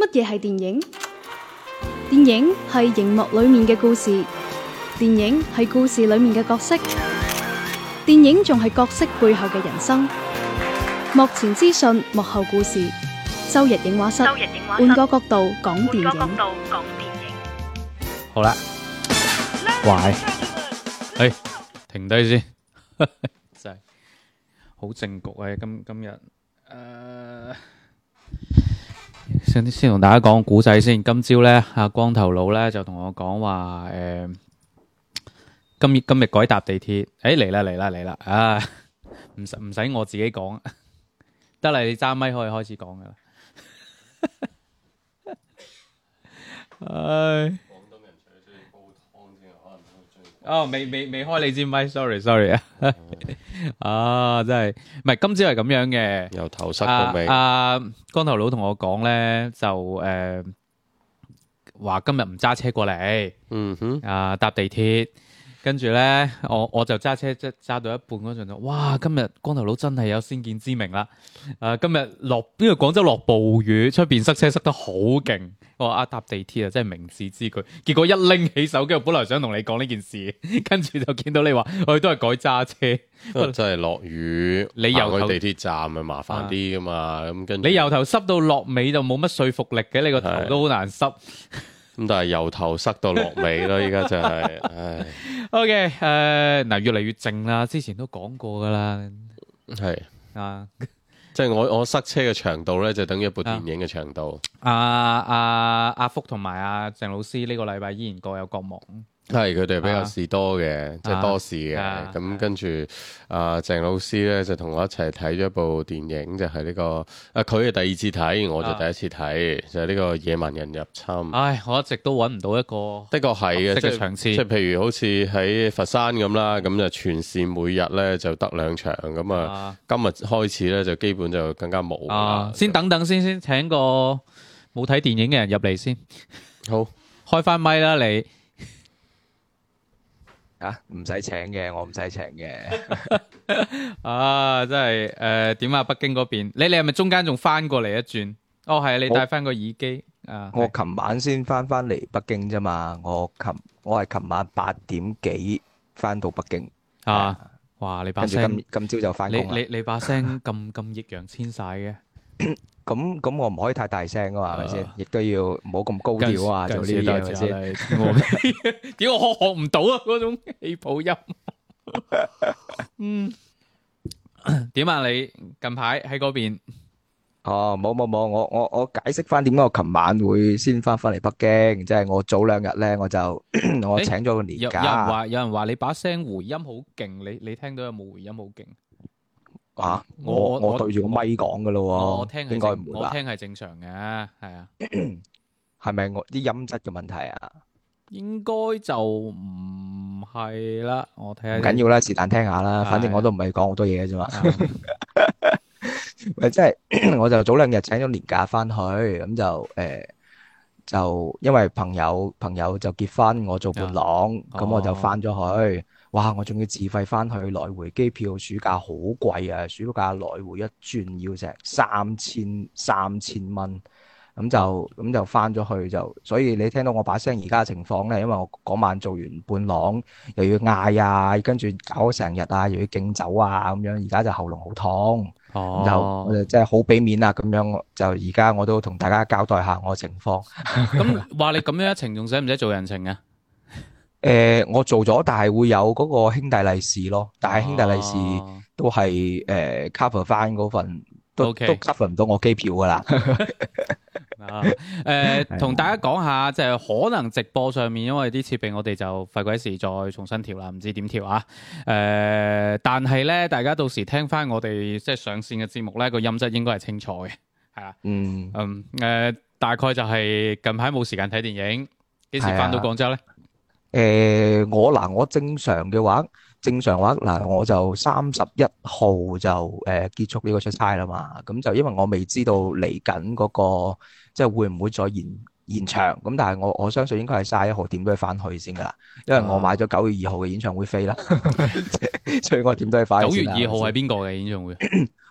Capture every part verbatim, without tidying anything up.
乜嘢係電影？電影係熒幕裏面嘅故事，電影係故事裏面嘅角色，電影仲係角色背後嘅人生。幕前資訊，幕後故事。周日映畫室，換個角度講電影。 好啦，喂，誒，停低先，真係好正局啊！今今日誒，先先同大家講個古仔先。今朝咧，阿光頭佬咧就同我講話，誒，今日今日改搭地鐵，誒嚟啦嚟啦嚟啦，啊，唔使唔使我自己講，得啦，你揸咪可以開始講噶啦。唉。哦，未未未開你支咪 ，sorry sorry 啊，啊真係，唔係今朝係咁樣嘅， 由頭塞到尾。 阿光頭佬同我講咧，就誒話今日唔揸車過嚟， 嗯哼， 啊搭地鐵，跟住咧我我就揸車即揸到一半嗰陣就，哇！今日光頭佬真係有先見之明啦，誒今日落因為廣州落暴雨，出邊塞車塞得好勁。我話啊搭地鐵啊，真係明智之舉。結果一拎起手機，我本來想同你講呢件事，跟住就見到你話我哋都係改揸車。 真係落雨， 你由去地鐵站咪麻煩啲噶嘛？咁跟住你由頭濕到落尾就冇乜說服力嘅，你個頭都好難濕。 咁但係由頭塞到落尾咯，依家就係、唉。 OK， 誒、呃、嗱，越嚟越靜啦，之前都講過噶啦， 係啊。 即係我我塞車嘅長度咧，就等於一部電影嘅長度。 阿阿阿福同埋阿鄭老師呢個禮拜依然各有各忙。 係佢哋比較事多嘅，即係、啊、多事嘅。咁、 啊啊、 跟住阿鄭老師咧就同我一齊睇咗一部電影，就係、是、呢、這個啊佢係第二次睇，我就第一次睇，啊、就係呢個野蠻人入侵。唉， 我一直都揾唔到一個的確係嘅， 即係場次， 即係譬如好似喺佛山咁啦，咁就全線每日咧就得兩場，咁啊今日開始咧就基本就更加冇、 啊。先等等先，先請個冇睇電影嘅人入嚟先。 好， 開翻咪啦你。 啊，唔使請嘅，我唔使請嘅。 啊，真係誒，點啊？北京嗰邊，你你係咪中間仲翻過嚟一轉？哦，係啊，你戴翻個耳機啊。 我琴晚先翻翻嚟北京啫嘛，我琴我係琴晚八點幾翻到北京。 啊，哇！你把聲今今朝就翻工啦。 你你你把聲咁咁易烊千璽嘅。 咁咁我唔可以太大聲噶嘛，係咪先？亦都要唔好咁高調啊，做呢啲嘢係咪先？ 點我學學唔到啊？嗰種氣泡音。嗯，點啊？你近排喺嗰邊？ 哦，冇冇冇，我我我解釋翻點解我琴晚會先翻翻嚟北京，即係我早兩日咧，我就我請咗個年假。 有有人話有人話你把聲回音好勁，你你聽到有冇回音好勁？ 啊！我我，我對住個咪講噶咯喎， 我聽應該唔會吧？ 我聽係正常嘅，係啊。 係咪我啲音質嘅問題啊？ 應該就唔係啦，我睇下。 唔緊要啦，是但聽下啦，反正我都唔係講好多嘢嘅啫嘛。咪即係我就早兩日請咗年假翻去，咁就誒、呃、就因為朋友朋友就結婚，我做伴郎，咁、哦、我就翻咗去。哇！我仲要自費翻去，來回機票暑假好貴啊！暑假來回一轉要成三千三千蚊，咁就咁就翻咗去就，所以你聽到我把聲而家嘅情況咧，因為我嗰晚做完伴郎，又要嗌啊，跟住搞咗成日啊，又要敬酒啊，咁樣而家就喉嚨好痛， 哦、 就我就真係好俾面啦，咁樣就而家我都同大家交代下我嘅情況。 咁話你咁樣一程，仲使唔使做人情啊？ 誒、呃，我做咗，但係會有嗰個兄弟利是咯。但係兄弟利是都係誒、呃、cover 翻嗰份，都 Okay. 都 cover 唔到我機票噶啦。 啊，誒、呃，同大家講下，就係、是、可能直播上面，因為啲設備我哋就費鬼事再重新調啦，唔知點調啊。誒、呃，但係咧，大家到時聽翻我哋即係上線嘅節目咧，個音質應該係清楚嘅，係啊。嗯嗯，誒、呃，大概就係近排冇時間睇電影，幾時翻到廣州咧？ 誒、呃，我嗱，我正常嘅話，正常話嗱，我就三十一號就誒、呃、結束呢個出差啦嘛。咁就因為我未知道嚟緊嗰個即係會唔會再延延長。咁但係我我相信應該係卅一號點都要翻去先噶啦，因為我買咗九月二號嘅演唱會飛啦，所以我點都要翻去先。 九月二號係邊個嘅演唱會？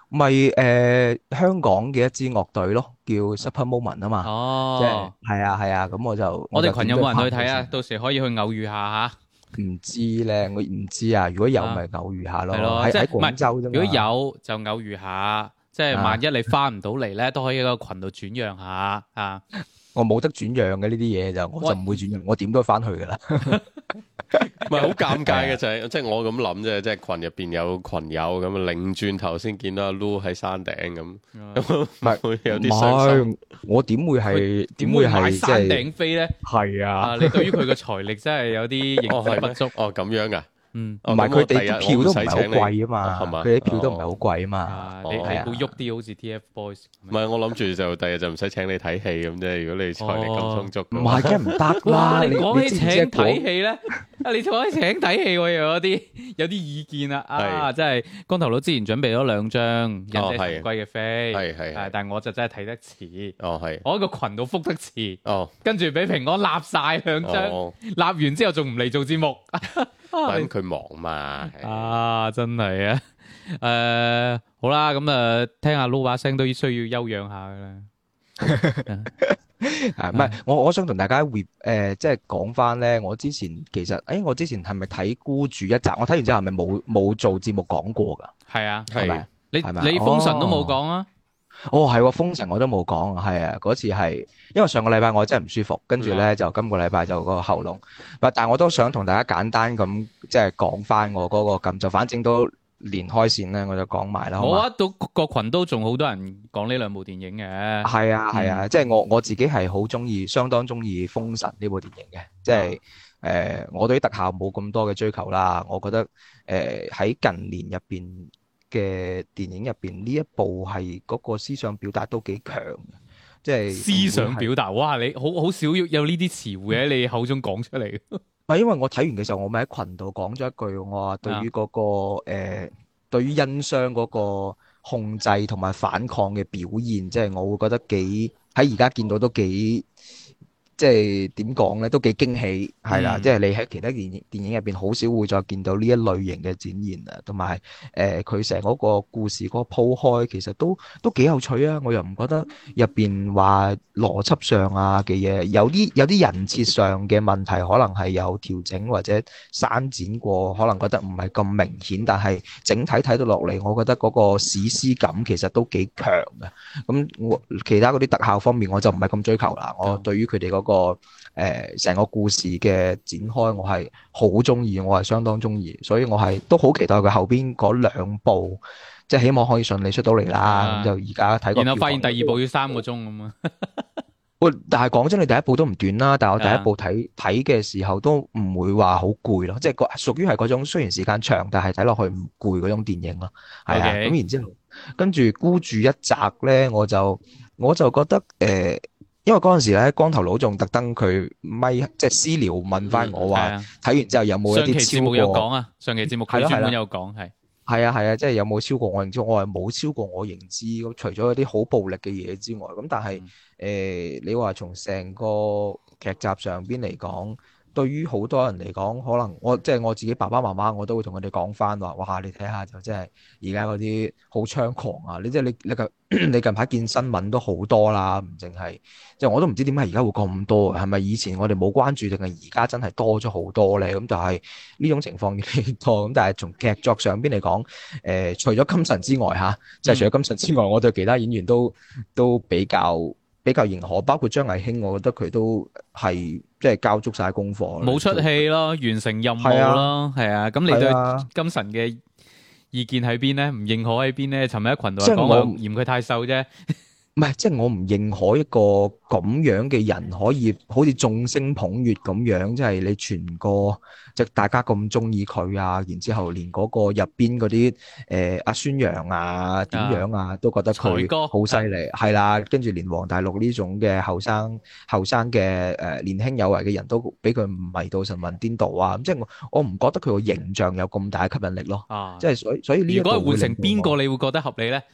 咪誒香港嘅一支樂隊咯，叫 Super Moment 啊嘛，即係哦， 係啊係啊，咁我就我哋群有冇人去睇啊？ 我就點咗到時可以去偶遇下嚇。 唔知咧，我唔知啊。如果有啊咪偶遇下咯， 係咯， 喺喺即係唔係廣州啫嘛。 如果有就偶遇下，即係萬一你翻唔到嚟咧，都可以喺個群度轉讓下啊。 我冇得轉讓嘅呢啲嘢就，我就唔會轉讓，我點都翻去噶啦。 唔係好尷尬嘅就係，即係我咁諗啫，即係群入邊有群友咁啊，擰轉頭先見到阿 Lu 喺山頂咁，咁唔係會有唔啲傷心。 係，我點會係點會買係即山係頂飛咧？ 係啊？ 啊，你對於佢嘅財力真係有啲認哦，係咩識不足。 哦，咁樣噶。 嗯， 哦唔係佢哋啲咁我第日票都唔係好我唔使請你貴啊嘛， 係嘛佢哋啲票都唔係好貴啊嘛。 啊，你你哦係啊會喐啲好似 T F Boys 唔係，我諗住就第日就唔使請你睇戲咁啫。如果你財力咁充足唔嘅話， 係，梗係唔得哇！ 啦！ 你講起知唔知請睇嗰戲咧，啊！你講起請睇戲，我又有啲有啲意見啦。啊， 係真係光頭佬之前準備咗兩張忍者哦係神龜嘅飛， 係係係啊但係我就真係睇得遲， 哦係， 我喺個群度覆得遲， 哦跟住俾平安立晒兩張， 哦， 立完之後仲唔嚟做節目。 咁佢忙嘛。係啊，真係啊！誒，好啦，咁啊，聽下 Lu 把聲都需要休養下嘅啦。 係唔係？我我想同大家回誒，即係講翻咧。我之前其實，誒，我之前係咪睇孤注一擲？我睇完之後係咪冇冇做節目講過㗎？ 係啊， 係咪係？ 你係咪你封神都冇講啊？ 哦，係喎，封神我都冇講，係啊，嗰次係因為上個禮拜我真係唔舒服，跟住咧就今個禮拜就個喉嚨，但係我都想同大家簡單咁即係講翻我嗰個咁，就反正都連開線咧，我就講埋啦。好嘛？ 我啊，到個群都仲好多人講呢兩部電影嘅。 係啊係啊，即係我我自己係好中意，相當中意《封神》呢部電影嘅，即係誒、呃、我對於特效冇咁多嘅追求啦，我覺得誒喺、呃、近年入邊嘅電影入邊呢一部係嗰個思想表達都幾強嘅，即係思想表達，哇！你好好少有呢啲詞彙喺你口中講出嚟。 唔係因為我睇完嘅時候，我咪喺群度講咗一句，我話對於嗰、個誒、呃，對於殷商嗰個控制同埋反抗嘅表現，即係我會覺得幾喺而家見到都幾。即係點講咧，都幾驚喜，係啦！ 嗯即係你喺其他電影電影入邊，好少會再見到呢一類型嘅展現啊，同埋誒佢成嗰個故事嗰個鋪開，其實都都幾有趣啊！我又唔覺得入邊話邏輯上啊嘅嘢，有啲有啲人設上嘅問題，可能係有調整或者刪剪過，可能覺得唔係咁明顯，但係整體睇到落嚟，我覺得嗰個史詩感其實都幾強嘅。咁我其他嗰啲特效方面，我就唔係咁追求啦。我對於佢哋嗰個誒成個故事嘅展開，我係好中意，我係相當中意，所以我係都好期待佢後邊嗰兩部，即係希望可以順利出到嚟啦。咁就而家睇個， 然後發現第二部要三個鐘咁啊！ 喂，但係講真，你第一部都唔短啦，但係我第一部睇睇嘅時候都唔會話好攰咯，即係個屬於係嗰種雖然時間長，但係睇落去唔攰嗰種電影咯。係啊，咁 Okay. 然之後跟住孤注一擲咧，我就我就覺得誒。呃因為嗰陣時咧，光頭佬仲特登佢咪即係私聊問翻我話，睇完之後有冇一上期啲超節目有講過？ 啊，上期節目佢專門有講係。 係啊係啊，即係有冇超過我認知？我係冇超過我認知。咁除咗一啲好暴力嘅嘢之外，咁但係誒、呃，你話從成個劇集上邊嚟講，對於好多人嚟講，可能我即係我自己爸爸媽媽，我都會同佢哋講翻話，哇！你睇下就真係而家嗰啲好猖狂啊！你即係你你近你近排見新聞都好多啦，唔淨係即係我都唔知點解而家會咁多，係咪以前我哋冇關注，定係而家真係多咗好多咧？咁就係呢種情況越嚟越多。咁但係從劇作上邊嚟講，誒、呃、除咗金神之外嚇，即係除咗金神之外，我對其他演員都都比較比較認可，包括張藝興，我覺得佢都係即係交足晒功課， 冇出戲咯，完成任務咯，係啊。咁你對金神嘅意見喺邊咧？唔認可喺邊咧？尋日喺群度講我嫌佢太瘦啫。 唔係，即係我唔認可一個咁樣嘅人可以好似眾星捧月咁樣，即係你全個即係大家咁中意佢啊，然之後連嗰個入邊嗰啲誒阿孫楊啊點樣啊，都覺得佢好犀利，係啦，跟住連黃大陸呢種嘅後生後生嘅誒年輕有為嘅人都俾佢迷到神魂顛倒啊！即係我我唔覺得佢個形象有咁大嘅吸引力咯。 啊， 即係所以所以呢一個如果係換成邊個，你會覺得合理咧？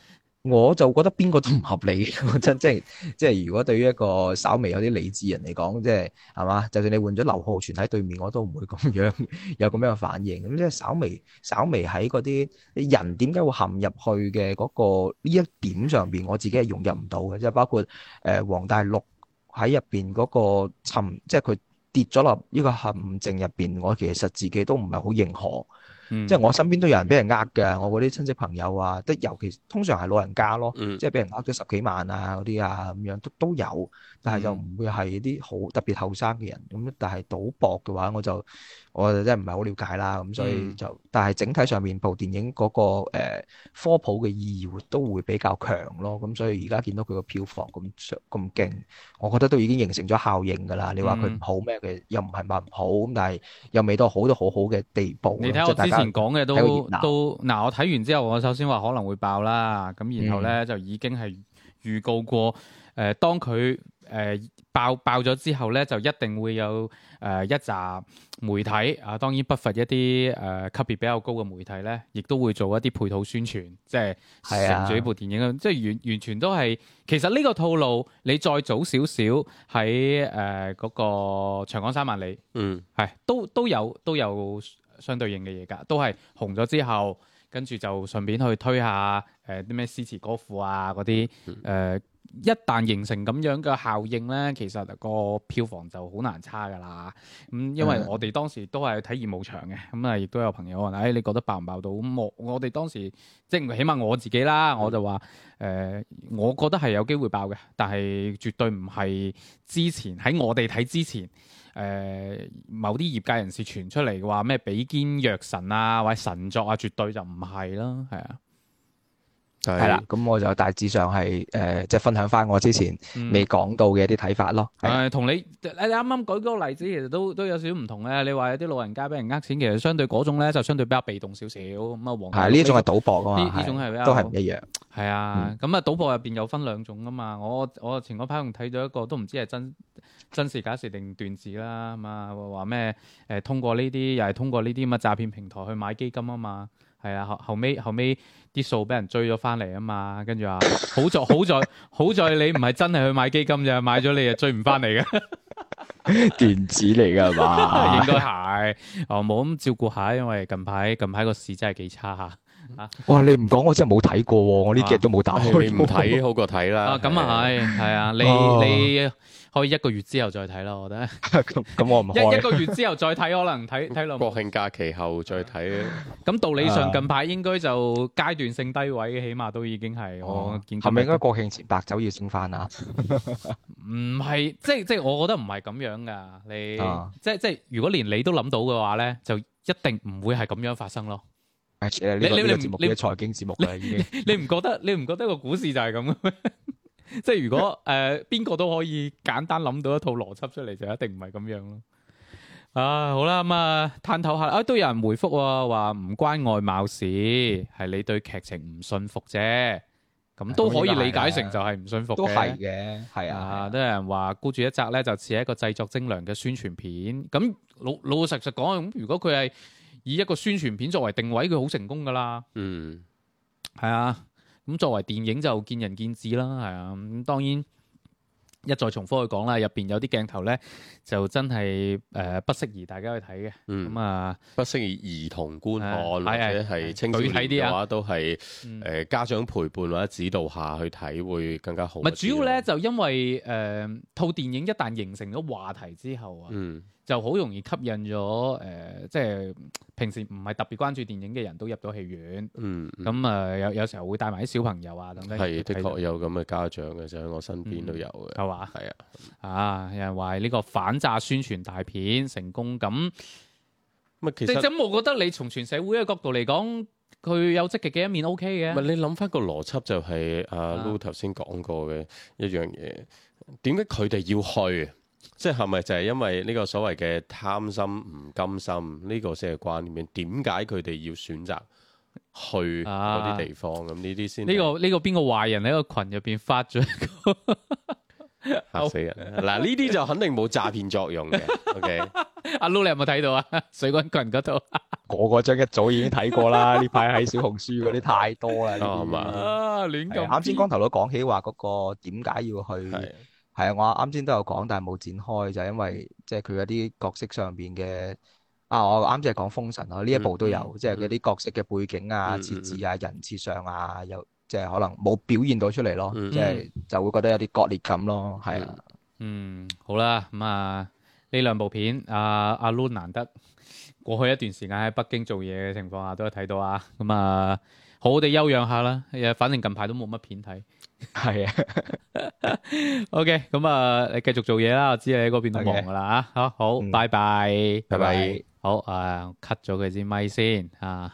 我就覺得邊個都唔合理，真即係即係如果對於一個稍微有啲理智人嚟講，即係係嘛，就算你換咗劉浩存喺對面，我都唔會咁樣有咁樣嘅反應。咁即係稍微稍微喺嗰啲人點解會陷入去嘅嗰個呢一點上邊，我自己係融入唔到嘅，即係包括誒黃大陸喺入邊嗰個沉，即係佢跌咗落呢個陷阱入邊，我其實自己都唔係好認可。 嗯、 即係我身邊都有人俾人呃嘅，我嗰啲親戚朋友啊，即尤其通常係老人家咯， 嗯、 即係俾人呃咗十幾萬啊嗰啲啊咁樣都都有，但係就唔會係啲好特別後生嘅人咁。但係賭博嘅話，我就我就真係唔係好了解啦。咁所以就，嗯、但係整體上面部電影嗰、嗰個、呃、科普嘅意義都會比較強咯。咁所以而家見到佢個票房咁咁勁，我覺得都已經形成咗效應㗎啦。你話佢唔好咩嘅，又唔係話唔好咁，但係又未到好到好好嘅地步。 你睇我之前講嘅都都嗱，我睇完之後，我首先話可能會爆啦，咁然後咧、嗯、就已經係預告過，誒、呃、當佢誒、呃、爆爆咗之後咧，就一定會有誒、呃、一集媒體啊，當然不乏一啲誒、呃、級別比較高嘅媒體咧，亦都會做一啲配套宣傳，即係乘住呢部電影，啊、即係完完全都係其實呢個套路，你再早少少喺誒嗰個長江三萬里，嗯，係都都有都有。相對應嘅嘢㗎，都係紅咗之後，跟住就順便去推下誒啲咩詩詞歌賦啊嗰啲誒，一旦形成咁樣嘅效應咧，其實個票房就好難差㗎啦。咁、嗯、因為我哋當時都係睇業務場嘅，咁啊亦都有朋友話：誒、哎、你覺得爆唔爆到？咁我我哋當時即係起碼我自己啦，我就話誒、呃，我覺得係有機會爆嘅，但係絕對唔係之前喺我哋睇之前。誒、呃、某啲業界人士傳出嚟嘅話咩比肩藥神啊或者神作啊，絕對就唔係啦，係啊，係啦，咁我就大致上係誒、呃、即係分享翻我之前未講到嘅一啲睇法咯。誒同、嗯、你你啱啱舉嗰個例子，其實都都有少少唔同嘅。你話有啲老人家俾人呃錢，其實相對嗰種咧就相對比較被動少少。咁啊，黃係呢種係賭博啊嘛，呢種係比較都係唔一樣。係啊，咁啊、嗯、賭博入邊有分兩種啊嘛。我我前嗰排仲睇咗一個，都唔知係真。真事假事定段子啦，咁啊話咩誒通過呢啲又係通過呢啲咁嘅詐騙平台去買基金啊嘛，係啊後後尾後尾啲數俾人追咗翻嚟啊嘛，跟住話好在好在好在你唔係真係去買基金咋，買咗你又追唔翻嚟嘅段子嚟㗎係嘛？應該係哦，冇咁照顧下，因為近排近排個市真係幾差嚇。啊！哇！你唔講我真係冇睇過喎，我呢幾日都冇打開。你唔睇好過睇啦。啊，咁啊係，係啊，你你可以一個月之後再睇啦，我覺得。咁咁我唔開。一一個月之後再睇，可能睇睇落。國慶假期後再睇。咁道理上近排應該就階段性低位，起碼都已經係我見。係咪應該國慶前白酒要升翻啊？唔係，即係即係，我覺得唔係咁樣噶。你即係即係，如果連你都諗到嘅話咧，就一定唔會係咁樣發生咯。誒，呢個呢個節目嘅財經節目啦，已經。你唔覺得？你唔覺得個股市就係咁嘅咩？即係如果誒邊個都可以簡單諗到一套邏輯出嚟，就一定唔係咁樣咯。啊，好啦，咁啊，探討下啊，都有人回覆喎，話唔關外貌事，係你對劇情唔信服啫。咁都可以理解成就係唔信服嘅。都係嘅，係啊。都有人話孤注一擲咧，就似係一個製作精良嘅宣傳片。咁老老老實實講，咁如果佢係以一個宣傳片作為定位，佢好成功噶啦。嗯，係啊。咁作為電影就見仁見智啦，係啊。咁當然一再重複去講啦，入邊有啲鏡頭咧就真係誒、呃、不適宜大家去睇嘅。咁、嗯、啊，不適宜兒童觀看，啊、或者係青少年嘅話都係誒、呃、家長陪伴或者指導下去睇會更加好。咪主要咧就因為誒套、呃、電影一旦形成咗話題之後啊。嗯就好容易吸引咗誒、呃，即係平時唔係特別關注電影嘅人都入咗戲院。嗯，咁啊、呃、有有時候會帶埋啲小朋友啊等等。係，的確有咁嘅家長嘅，就喺我身邊都有嘅。係嘛、嗯？係啊。啊，有人話呢個反詐宣傳大片成功咁。咪其實咁，我覺得你從全社會嘅角度嚟講，佢有積極嘅一面 OK 嘅。咪你諗翻個邏輯就係阿 Lu 頭先講過嘅一樣嘢，點解佢哋要去？即係咪就係因為呢個所謂嘅貪心唔甘心呢、呢個先係關鍵？點解佢哋要選擇去嗰啲地方？咁呢啲先呢個呢個邊個壞人喺個群入邊發咗一個嚇死人！嗱呢啲就肯定冇詐騙作用嘅。OK，阿 Lu 你有冇睇到啊？水軍群嗰度個個章一早已經睇過啦。呢排喺小紅書嗰啲太多啦。 係嘛？ 啊，亂咁。 啱先光頭佬講起話嗰個點解要去， 係係啊，我啱先都有講，但係冇展開，就係因為即係佢嗰啲角色上邊嘅啊，我啱先係講封神啊，呢一部都有， 嗯即係嗰啲角色嘅背景啊、 嗯設置啊、人設上啊，有即係可能冇表現到出嚟咯， 嗯即係就會覺得有啲割裂感咯，係啊。 嗯，好啦，咁啊呢兩部片，阿阿 Lun 難得過去一段時間喺北京做嘢嘅情況下都有睇到啊，咁啊好好地休養下啦，誒，反正近排都冇乜片睇。 係啊。 OK，咁啊，你繼續做嘢啦，我知你喺嗰邊都忙噶啦啊，好好， 嗯拜拜， 拜拜。 好啊，cut 咗佢支咪先啊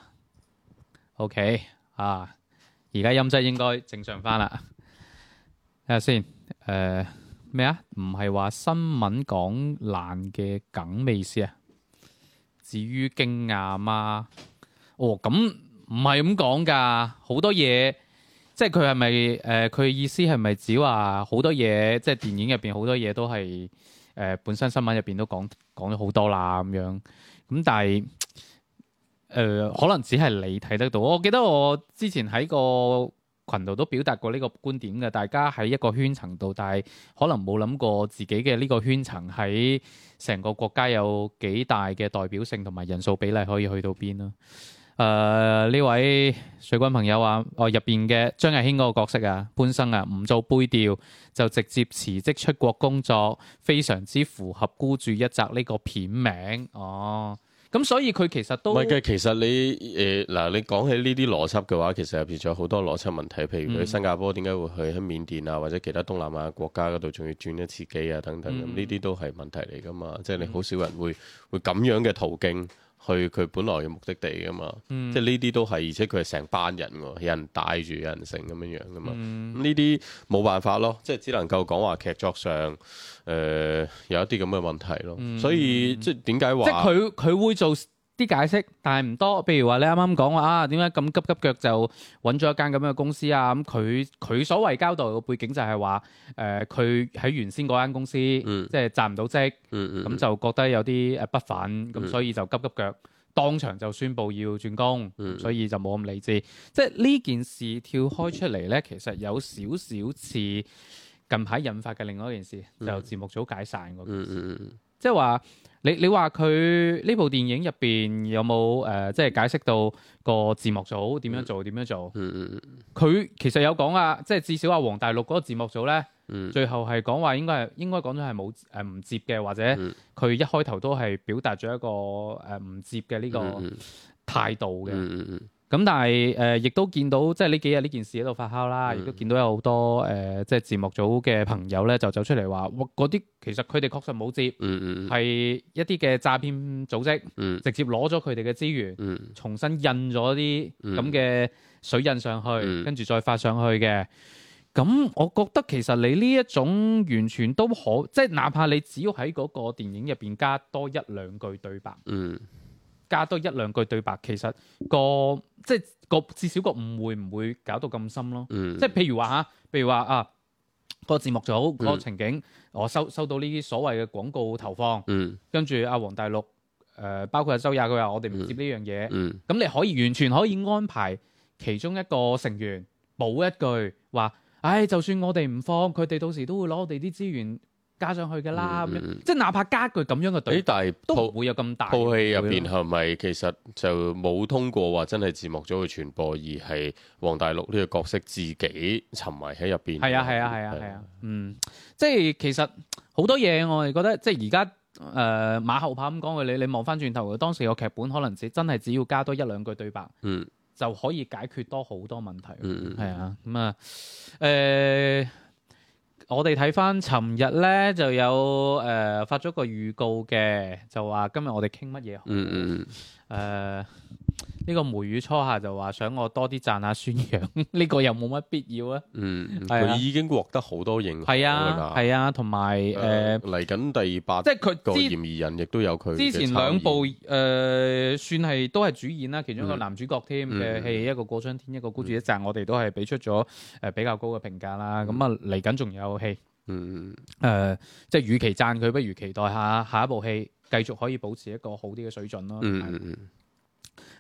，OK 啊，而家音質應該正常翻啦，睇下先，誒咩啊？唔係話新聞講爛嘅梗咩意思啊？至於驚訝嘛？哦，咁唔係咁講㗎，好多嘢。即係佢係咪誒？佢、呃、意思係咪指話好多嘢？即係電影入邊好多嘢都係誒、呃、本身新聞入邊都講講咗好多啦咁樣。咁但係誒、呃、可能只係你睇得到。我記得我之前喺個群度都表達過呢個觀點嘅。大家喺一個圈層度，但係可能冇諗過自己嘅呢個圈層喺成個國家有幾大嘅代表性同埋人數比例可以去到邊咯。誒呢、uh, 位水軍朋友話：哦入邊嘅張藝興嗰個角色啊，潘生啊，唔做背調就直接辭職出國工作，非常之符合孤注一擲呢個片名。哦，咁所以佢其實都唔係嘅。其實你誒嗱、呃，你講起呢啲邏輯嘅話，其實入邊仲有好多邏輯問題。譬如佢新加坡點解會去喺緬甸啊，或者其他東南亞國家嗰度仲要轉一次機啊等等咁，呢啲、嗯、都係問題嚟噶嘛。即係你好少人會會咁樣嘅途徑去佢本來嘅目的地噶嘛，嗯、即係呢啲都係，而且佢係成班人喎，有人帶住，有人成咁樣樣噶嘛。咁呢啲冇辦法咯，即係只能夠講話劇作上誒、呃、有一啲咁嘅問題咯。嗯、所以即係點解話？ 即係佢佢會做啲解釋，但係唔多。譬如話你啱啱講話啊，點解咁急急腳就揾咗一間咁樣嘅公司啊？咁佢佢所謂交代嘅背景就係話誒，佢、呃、喺原先嗰間公司、嗯、即係賺唔到職，咁、嗯嗯、就覺得有啲誒不忿，咁、嗯、所以就急急腳當場就宣佈要轉工，嗯、所以就冇咁理智。即係呢件事跳開出嚟咧，其實有少少似近排引發嘅另外一件事，嗯、就節目組解散嗰件事，嗯嗯、即係話。你你話佢呢部電影入邊有冇誒、呃，即係解釋到個字幕組點樣做點、嗯、樣做？佢、嗯、其實有講啊，即係至少阿黃大陸嗰個字幕組咧，嗯、最後係講話應該係應該講咗係冇誒唔接嘅，或者佢一開頭都係表達咗一個誒唔、呃、接嘅呢個態度嘅。嗯嗯嗯咁但係誒，亦、呃、都見到即係呢幾日呢件事喺度發酵啦，亦、嗯、都見到有好多誒、呃，即係字幕組嘅朋友咧，就走出嚟話：哇，嗰啲其實佢哋確實冇接，係、嗯嗯、一啲嘅詐騙組織，嗯、直接攞咗佢哋嘅資源，嗯、重新印咗啲咁嘅水印上去，嗯、跟住再發上去嘅。咁我覺得其實你呢一種完全都可，即係哪怕你只要喺嗰個電影入邊加多一兩句對白。嗯加多一兩句對白，其實個即係個至少個誤會唔會搞到咁深咯。嗯、即係譬如話嚇，譬如話啊，個字幕組嗰、嗯、個情景，我收收到呢啲所謂嘅廣告投放，嗯、跟住阿黃大陸誒、呃，包括阿周也，佢話我哋唔接呢樣嘢。咁、嗯嗯、你可以完全可以安排其中一個成員補一句話，唉，就算我哋唔放，佢哋到時都會攞我哋啲資源加上去嘅啦，咁樣、嗯、即係哪怕加句咁樣嘅對白，但係都唔會有咁大。套戲入邊係咪其實就冇通過話真係字幕組去傳播，而係黃大陸呢個角色自己沉迷喺入邊？係啊係啊係啊係啊，嗯，即係其實好多嘢我哋覺得，即係而家誒馬後炮咁講嘅，你你望翻轉頭，當時個劇本可能只真係只要加多一兩句對白，嗯，就可以解決多好多問題。嗯，係啊，咁啊誒。我哋睇翻，尋日咧就有誒、呃、發咗個預告嘅，就話今日我哋傾乜嘢好？嗯嗯誒呢個梅雨初夏就話想我多啲讚下孫楊，呢個又冇乜必要啊。嗯，佢、啊、已經獲得好多認可。係啊，係啊，同埋誒嚟緊第八，即係佢個嫌疑人亦都有佢。之前兩部誒、呃、算係都係主演啦，其中一個男主角添嘅戲，一個過春天，一個孤注一擲，我哋都係俾出咗誒比較高嘅評價啦。咁啊嚟緊仲有戲，嗯誒、呃，即係與其讚佢，不如期待下下一部戲繼續可以保持一個好啲嘅水準咯。嗯嗯嗯。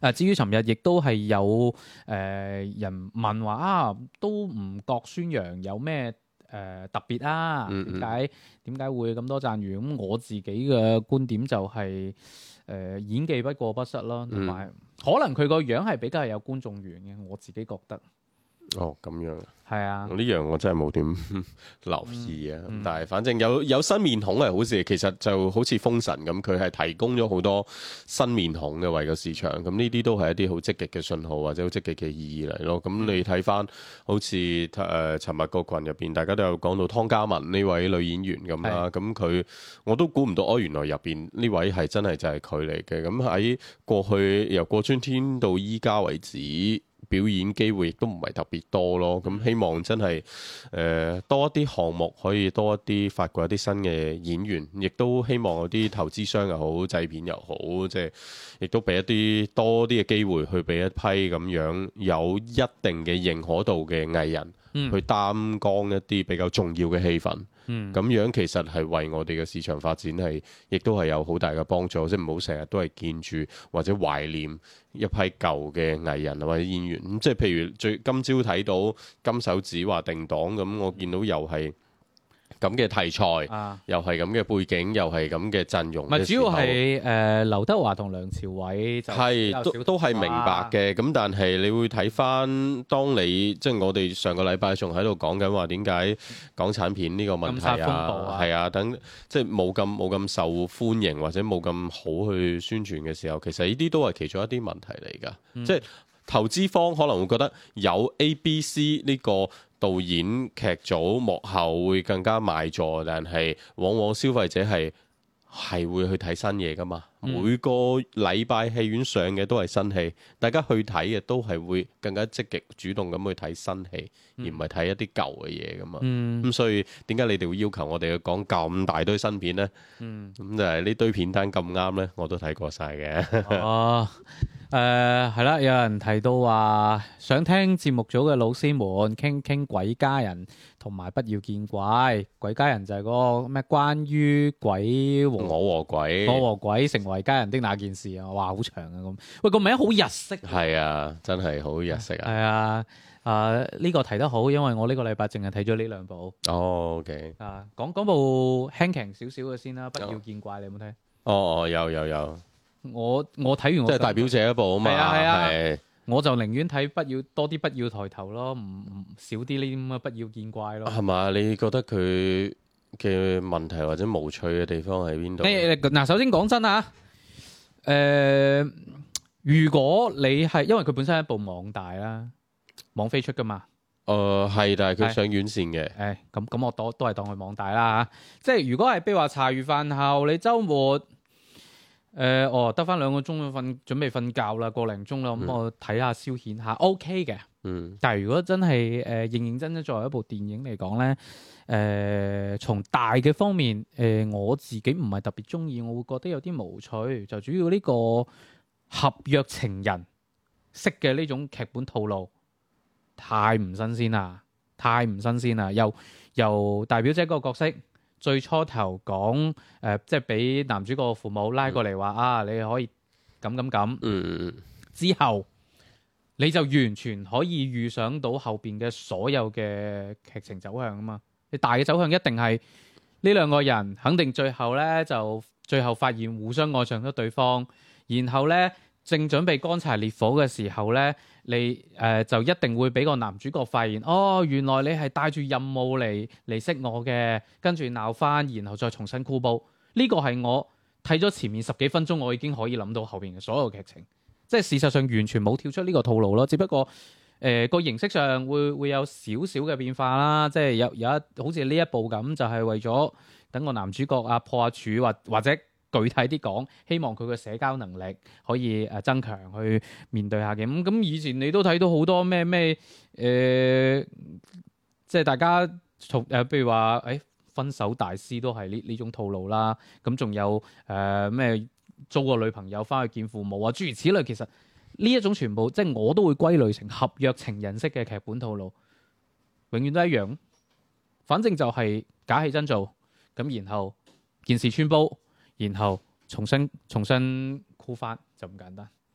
誒，至於尋日亦都係有誒、呃、人問話啊，都唔覺孫楊有咩誒、呃、特別啊？點解點解會咁多讚譽？咁我自己嘅觀點就係、是、誒、呃、演技不過不失咯，同埋、嗯、可能佢個樣係比較有觀眾緣嘅，我自己覺得。 哦，咁樣係啊， 呢樣我真係冇點留意啊。 嗯嗯、 但係反正有有新面孔係好事，其實就好似封神咁，佢係提供咗好多新面孔嘅為個市場。咁呢啲都係一啲好積極嘅信號或者好積極嘅意義嚟咯。咁你睇翻好似誒尋日個群入邊，大家都有講到湯嘉文呢位女演員咁啦。咁佢是我都估唔到，哦，原來入邊呢位係真係就係佢嚟嘅。咁喺過去由過春天到依家為止，表演機會亦都唔係特別多咯，咁希望真係誒、呃、多一啲項目，可以多一啲發掘一啲新嘅演員，亦都希望有啲投資商又好，製片又好，即係亦都俾一啲多啲嘅機會去俾一批咁樣有一定嘅認可度嘅藝人、嗯、去擔當一啲比較重要嘅戲份。咁、嗯、樣其實係為我哋嘅市場發展係，亦都係有好大嘅幫助。即係唔好成日都係見住或者懷念一批舊嘅藝人或者演員。咁即係譬如最今朝睇到金手指話定檔，咁我見到又係咁嘅題材，啊、又係咁嘅背景，又係咁嘅陣容。唔係主要係誒、呃、劉德華同梁朝偉就係都都係明白嘅。咁但係你會睇翻，當你即係我哋上個禮拜仲喺度講緊話點解港產片呢個問題啊，係啊，等即係冇咁冇咁受歡迎或者冇咁好去宣傳嘅時候，其實呢啲都係其中一啲問題嚟㗎。嗯、即係投資方可能會覺得有 A、B、C 呢個導演劇組幕後會更加賣座，但係往往消費者係係會去睇新嘢㗎嘛。嗯、每個禮拜戲院上嘅都係新戲，大家去睇嘅都係會更加積極主動咁去睇新戲，嗯、而唔係睇一啲舊嘅嘢㗎嘛。咁、嗯、所以點解你哋會要求我哋去講咁大堆新片呢？咁、嗯、就係呢堆片單咁啱呢，我都睇過晒嘅。哦。誒係啦，有人提到話想聽節目組嘅老師們傾傾鬼家人同埋不要見怪。鬼家人就係嗰個咩關於鬼和我和鬼，我和鬼成為家人的那件事啊！哇，好長啊咁。喂，個名好日式。係啊，真係好日式啊。係啊，啊呢、呢個提得好，因為我呢個禮拜淨係睇咗呢兩部。哦 OK。啊，講講部輕鬆少少嘅先啦，不要見怪，你有冇睇？哦哦，有有有。我我睇完我即係大表姐一部啊嘛，係啊係啊，係我就寧願睇不要多啲不要抬頭咯，唔唔少啲呢啲咁嘅不要見怪咯。係嘛？你覺得佢嘅問題或者無趣嘅地方喺邊度？嗱，首先講真啊，誒、呃，如果你係因為佢本身係一部網大啦，網飛出噶嘛。誒係、呃，但係佢上院線嘅。誒咁咁，我都都係當佢網大啦嚇。即係如果係譬如話茶餘飯後，你週末。誒、呃，哦，得翻兩個鐘瞓，準備瞓覺啦，個零鐘啦，咁、嗯、我睇下消遣下 ，OK 嘅。嗯。但係如果真係誒、呃、認認真真作為一部電影嚟講咧，誒、呃、從大嘅方面，誒、呃、我自己唔係特別中意，我會覺得有啲無趣。就主要呢個合約情人式嘅呢種劇本套路，太唔新鮮啦，太唔新鮮啦。由由大表姐嗰個角色。最初頭講誒、呃，即係俾男主角父母拉過嚟話、嗯、啊，你可以咁咁咁。嗯，之後你就完全可以預想到後邊嘅所有嘅劇情走向啊嘛。你大嘅走向一定係呢兩個人肯定最後咧就最後發現互相愛上咗對方，然後咧正準備乾柴烈火嘅時候咧。你誒、呃、就一定會俾個男主角發現，哦，原來你係帶住任務嚟嚟識我嘅，跟住鬧翻，然後再重新箍煲。呢、這個係我睇咗前面十幾分鐘，我已經可以諗到後邊嘅所有劇情，即係事實上完全冇跳出呢個套路咯。只不過誒個、呃、形式上會會有少少嘅變化啦，即係有有一好似呢一部咁，就係、是、為咗等個男主角啊破下處或或者。具體啲講，希望佢嘅社交能力可以誒增強，去面對下嘅。咁咁以前你都睇到好多咩咩誒，即係大家從誒，譬如話誒、哎、分手大師都係呢呢種套路啦。咁仲有誒咩、呃、租個女朋友翻去見父母啊，諸如此類。其實呢一種全部即係我都會歸類成合約情人式嘅劇本套路，永遠都一樣。反正就係假戲真做，咁然後件事穿煲。然後重新重新箍翻就咁簡單。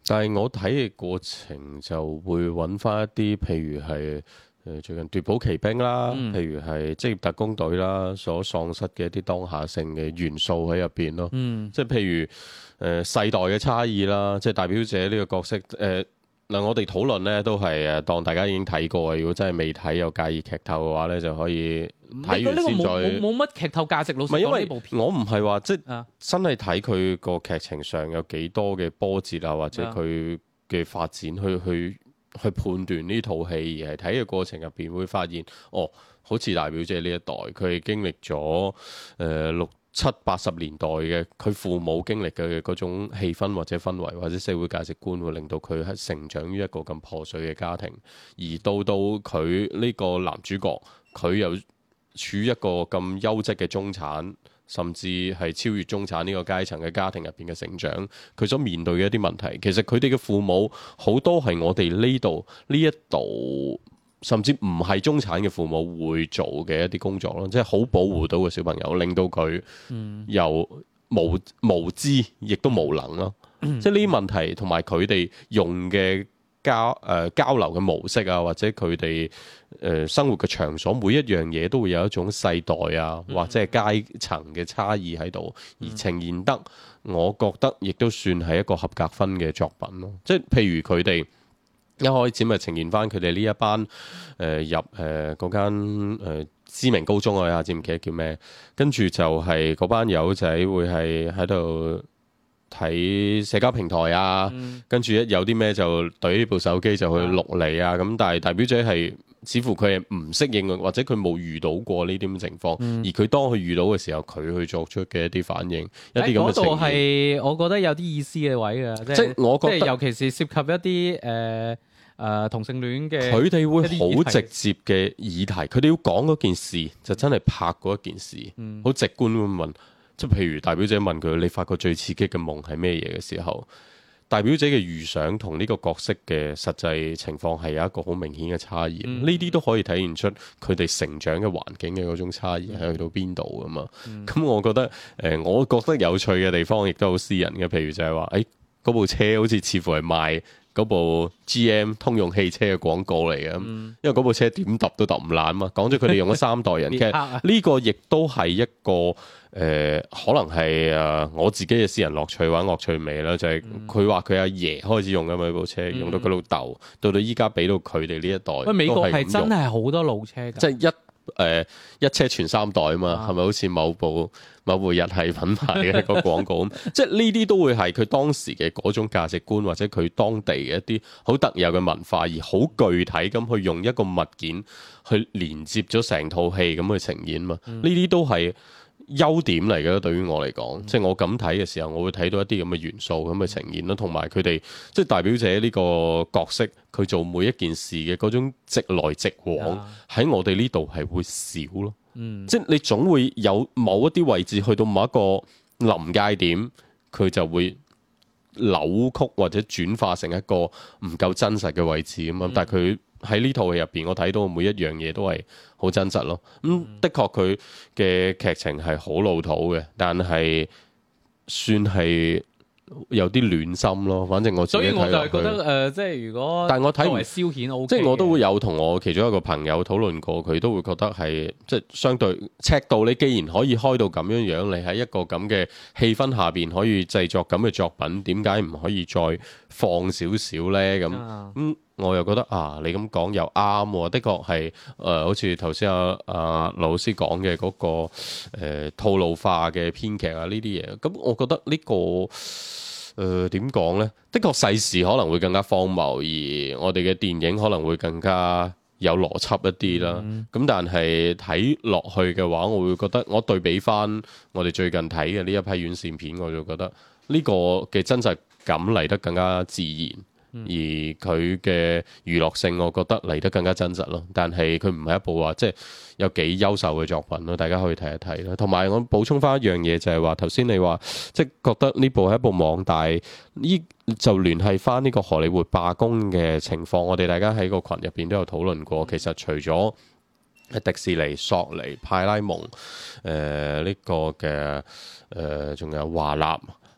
但係我睇嘅過程就會揾翻一啲，譬如係誒最近奪寶奇兵啦， 嗯、 譬如係職業特工隊啦，所喪失嘅一啲當下性嘅元素喺入邊咯。 嗯、 即係譬如誒、呃、世代嘅差異啦，即係代表者呢個角色誒嗱、呃，我哋討論呢都係誒當大家已經睇過，如果真係未睇又介意劇透嘅話呢，就可以睇完先再。 冇冇乜劇透價值，老實講， 因為呢部片我唔係話即係啊真係睇佢個劇情上有幾多嘅波折啊，或者佢嘅發展去去去判斷呢套戲，而係睇嘅過程入邊會發現，哦，好似大表姐呢一代，佢係經歷咗誒六七八十年代嘅佢父母經歷嘅嗰種氣氛或者氛圍或者社會價值觀，會令到佢係成長於一個咁破碎嘅家庭，而到到佢呢個男主角，佢又處於一個咁優質嘅中產，甚至係超越中產呢個階層嘅家庭入邊嘅成長，佢所面對嘅一啲問題，其實佢哋嘅父母好多係我哋呢度呢一度，甚至唔係中產嘅父母會做嘅一啲工作咯，即係好保護到個小朋友，令到佢又無無知，亦都無能咯。嗯、即係呢啲問題同埋佢哋用嘅交誒、呃、交流嘅模式啊，或者佢哋誒生活嘅場所，每一樣嘢都會有一種世代啊，或者係階層嘅差異喺度，而呈現得，我覺得亦都算係一個合格分嘅作品咯。即係譬如佢哋一開始咪呈現翻佢哋呢一班誒、呃、入誒嗰間誒知名高中，我一下子唔記得叫咩，跟住就係嗰班友仔會係喺度睇社交平台啊，嗯、跟住一有啲咩就懟呢部手機就去錄嚟啊，咁、嗯、但係大表姐係似乎佢係唔適應，或者佢冇遇到過呢啲咁嘅情況，嗯、而佢當佢遇到嘅時候，佢去作出嘅一啲反應，一啲咁嘅情況，嗰度係我覺得有啲意思嘅位嘅，即係我覺得尤其是涉及一啲誒。呃誒、呃、同性戀嘅， 佢哋會好直接嘅議題，佢哋要講嗰件事就真係拍嗰一件事，好、嗯、直觀咁問，即係譬如大表姐問佢你發過最刺激嘅夢係咩嘢嘅時候，大表姐嘅預想同呢個角色嘅實際情況係有一個好明顯嘅差異，呢啲、嗯、都可以體現出佢哋成長嘅環境嘅嗰種差異係去到邊度噶嘛。咁、嗯、我覺得誒、呃，我覺得有趣嘅地方亦都好私人嘅，譬如就係話誒嗰部車好似似乎係賣嗰部 G M 通用汽車嘅廣告嚟嘅，嗯、因為嗰部車點揼都揼唔爛嘛。講咗佢哋用咗三代人，其實呢個亦都係一個誒、呃，可能係誒我自己嘅私人樂趣或者樂趣味啦。就係佢話佢阿爺開始用緊嘛部車，嗯、用到佢老豆，到到依家俾到佢哋呢一代。喂， 美國係真係好多老車㗎， 即係一。誒、呃、一車全三代啊嘛，係咪、啊、好似某部某部日系品牌嘅一個廣告咁？即係呢啲都會係佢當時嘅嗰種價值觀，或者佢當地嘅一啲好特有嘅文化，而好具體咁去用一個物件去連接咗成套戲咁去呈現嘛。呢啲、嗯、都係優點嚟嘅，對於我嚟講，嗯、即係我咁睇嘅時候，我會睇到一啲咁嘅元素咁嘅呈現咯，同埋佢哋即係大表姐呢個角色，佢做每一件事嘅嗰種直來直往，喺、嗯、我哋呢度係會少咯。嗯、即係你總會有某一啲位置去到某一個臨界點，佢就會扭曲或者轉化成一個唔夠真實嘅位置咁嘛。嗯、但係佢喺呢套戲入邊，我睇到每一樣嘢都係好真實咯。咁、嗯、的確佢嘅劇情係好老土嘅，但係算係有啲暖心咯。反正我自己睇落去，所以我就係覺得誒、呃，即係如果但係我睇唔係消遣 OK，即係我都會有同我其中一個朋友討論過，佢都會覺得係即係相對尺度。你既然可以開到咁樣樣，你喺一個咁嘅氣氛下邊可以製作咁嘅作品，點解唔可以再放少少咧？咁咁。嗯我又覺得啊，你咁講又啱喎，的確係誒、呃，好似頭先阿阿老師講嘅嗰個誒、呃、套路化嘅編劇啊，呢啲嘢，咁我覺得呢、這個誒點講呢？的確世事可能會更加荒謬，而我哋嘅電影可能會更加有邏輯一啲啦。咁、嗯、但係睇落去嘅話，我會覺得我對比翻我哋最近睇嘅呢一批院線片，我就覺得呢個嘅真實感嚟得更加自然。而佢嘅娛樂性，我覺得嚟得更加真實咯。但係佢唔係一部話即係有幾優秀嘅作品咯，大家可以睇一睇啦。同埋我補充翻一樣嘢，就係話頭先你話即係覺得呢部係一部網大，呢就聯繫翻呢個荷里活罷工嘅情況。我哋大家喺個群入邊都有討論過。其實除咗迪士尼、索尼、派拉蒙，誒、呃、呢、這個嘅誒仲有華納。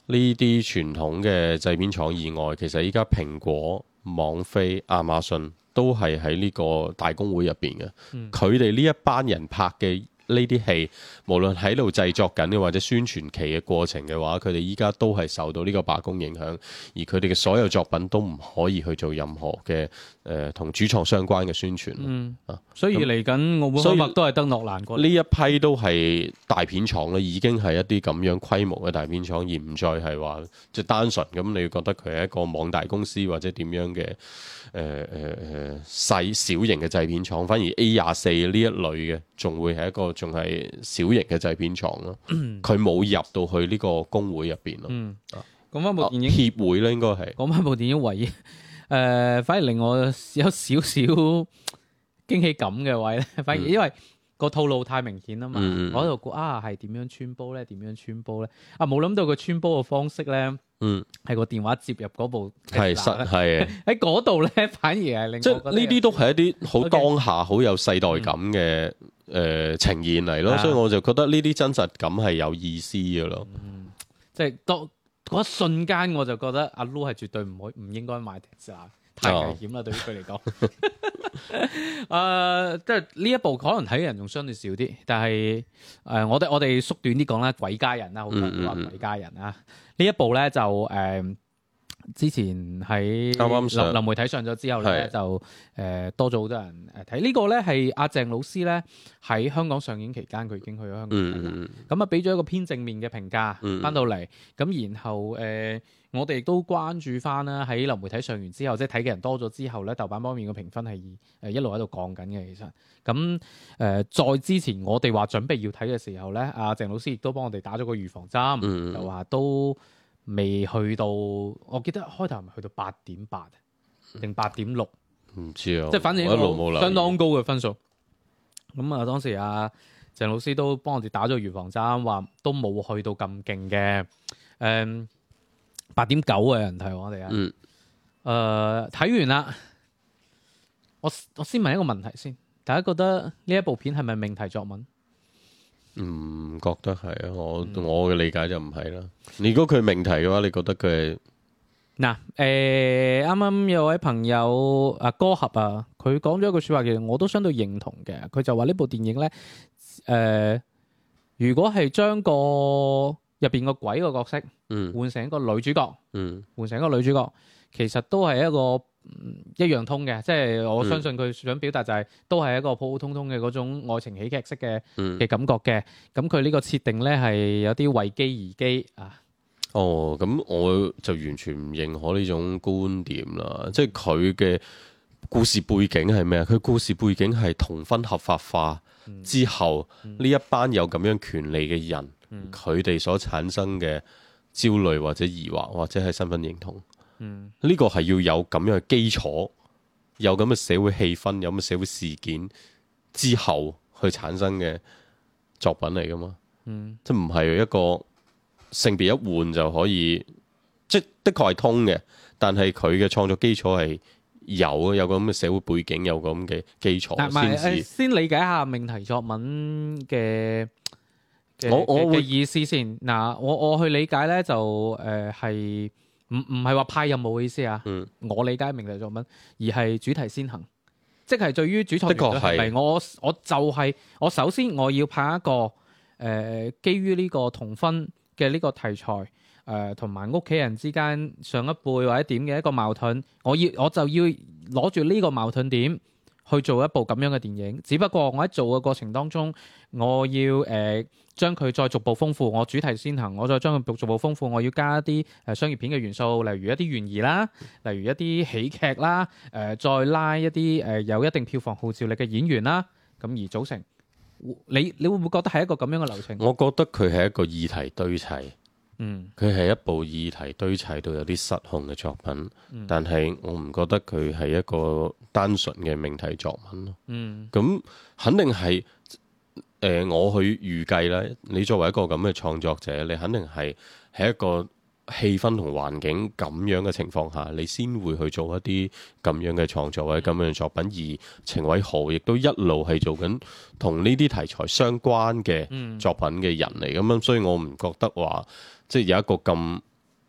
呢啲傳統嘅製片廠以外，其實依家蘋果、網飛、亞馬遜都係喺呢個大公會入邊嘅。佢哋呢一班人拍嘅呢啲戲，無論喺度製作緊嘅或者宣傳期嘅過程嘅話，佢哋依家都係受到呢個罷工影響，而佢哋嘅所有作品都唔可以去做任何嘅誒同主創相關嘅宣傳。 嗯啊， 所以嚟緊澳門開幕都係得諾蘭嗰呢一批都係大片廠咧，已經係一啲咁樣規模嘅大片廠，而唔再係話即係單純咁，你要覺得佢係一個網大公司或者點樣嘅誒誒誒細小型嘅製片廠，反而 A 廿四呢一類嘅仲會係一個仲係小型嘅製片廠咯。佢冇入到去呢個工會入邊咯。 嗯，講翻部電影協會咧，應該係講翻部電影唯一誒、呃，反而令我有少少驚喜感嘅位咧，反而因為個套路太明顯啊嘛， 嗯、 我喺度估啊係點樣穿煲咧？點樣穿煲咧？啊冇諗到佢穿煲嘅方式咧， 嗯， 係個電話接入嗰部係實係喺嗰度咧，反而係令即係呢啲都係一啲好當下好有世代感嘅。 嗯誒、呃、呈現嚟咯，啊、所以我就覺得呢啲真實感係有意思嘅咯。 嗯，即係當嗰一瞬間，我就覺得阿 Lu 係絕對唔可唔應該買 Tesla，太危險啦，哦、對於佢嚟講。誒、呃，即係呢一部可能睇嘅人仲相對少啲，但係誒、呃，我哋我哋縮短啲講啦，鬼家人啦，好多人都話鬼家人啊。呢、嗯嗯、一部咧就誒。呃之前喺流流媒體上咗之後咧，就誒、呃、多咗好多人誒睇。呢個咧係阿鄭老師咧喺香港上映期間，佢已經去咗香港睇啦。咁啊俾咗一個偏正面嘅評價，翻、嗯、到嚟咁，然後誒、呃、我哋亦都關注翻啦。喺流媒體上完之後，即係睇嘅人多咗之後咧，豆瓣方面嘅評分係誒一路喺度降緊嘅。其實咁誒、呃，再之前我哋話準備要睇嘅時候咧，阿鄭老師亦都幫我哋打咗個預防針，嗯、就話都未去到，我記得開頭係咪去到八點八定八點六？唔知啊，即係反正一個相當高嘅分數。咁啊，當時阿鄭老師都幫我哋打咗預防針，話都冇去到咁勁嘅。誒，八點九嘅人睇我哋啊。嗯。誒，睇完啦。我我先問一個問題先，大家覺得呢一部片係咪命題作文？ 唔覺得係啊，我、嗯、我嘅理解就唔係啦。如果佢命題嘅話，你覺得佢係嗱？誒，啱啱有位朋友啊，歌合啊，佢講咗一句說話，其實我都相對認同嘅。佢就話呢部電影咧，誒、呃，如果係將個入邊個鬼個角色，嗯，換成一個女主角，嗯，換成一個女主角，其實都係一個。一樣通嘅，即係我相信佢想表達就係、是嗯、都係一個普普通通嘅嗰種愛情喜劇式嘅嘅、嗯、感覺嘅。咁佢呢個設定咧係有啲為機而機啊。 哦，咁我就完全唔認可呢種觀點啦。即係佢嘅故事背景係咩啊？佢故事背景係同婚合法化之後，呢、嗯、一班有咁樣權利嘅人，佢哋、嗯、所產生嘅焦慮或者疑惑或者係身份認同。嗯，呢個係要有咁樣嘅基礎，有咁嘅社會氣氛，有咁嘅社會事件之後去產生嘅作品嚟噶嘛？嗯，即係唔係一個性別一換就可以，即係的確係通嘅，但係佢嘅創作基礎係有有個咁嘅社會背景，有個咁嘅基礎先至。 先理解下命題作文嘅我我嘅意思先。嗱，我我去理解咧就誒係。呃唔唔係話派任務嘅意思啊！嗯、我理解命題作文，而係主題先行，即係對於主創團隊係咪我我就係、是、我首先我要拍一個誒、呃、基於呢個同婚嘅呢個題材誒同埋屋企人之間上一輩或者點嘅一個矛盾，我要我就要攞住呢個矛盾點去做一部咁樣嘅電影。只不過我喺做嘅過程當中，我要誒。呃將佢再逐步豐富，我主題先行，我再將佢逐步豐富，我要加一啲誒商業片嘅元素，例如一啲懸疑啦，例如一啲喜劇啦，誒、呃、再拉一啲誒、呃、有一定票房號召力嘅演員啦，咁而組成。你你會唔會覺得係一個咁樣嘅流程？ 我覺得佢係一個議題堆砌， 嗯，佢係一部議題堆砌到有啲失控嘅作品，嗯、但係我唔覺得佢係一個單純嘅命題作文咯。嗯，咁肯定係。誒、呃，我去預計咧，你作為一個咁嘅創作者，你肯定係喺一個氣氛同環境咁樣嘅情況下，你先會去做一啲咁樣嘅創作或者咁樣嘅作品。而程偉豪亦都一路係做緊同呢啲題材相關嘅作品嘅人嚟，咁樣、嗯，所以我唔覺得話即係有一個咁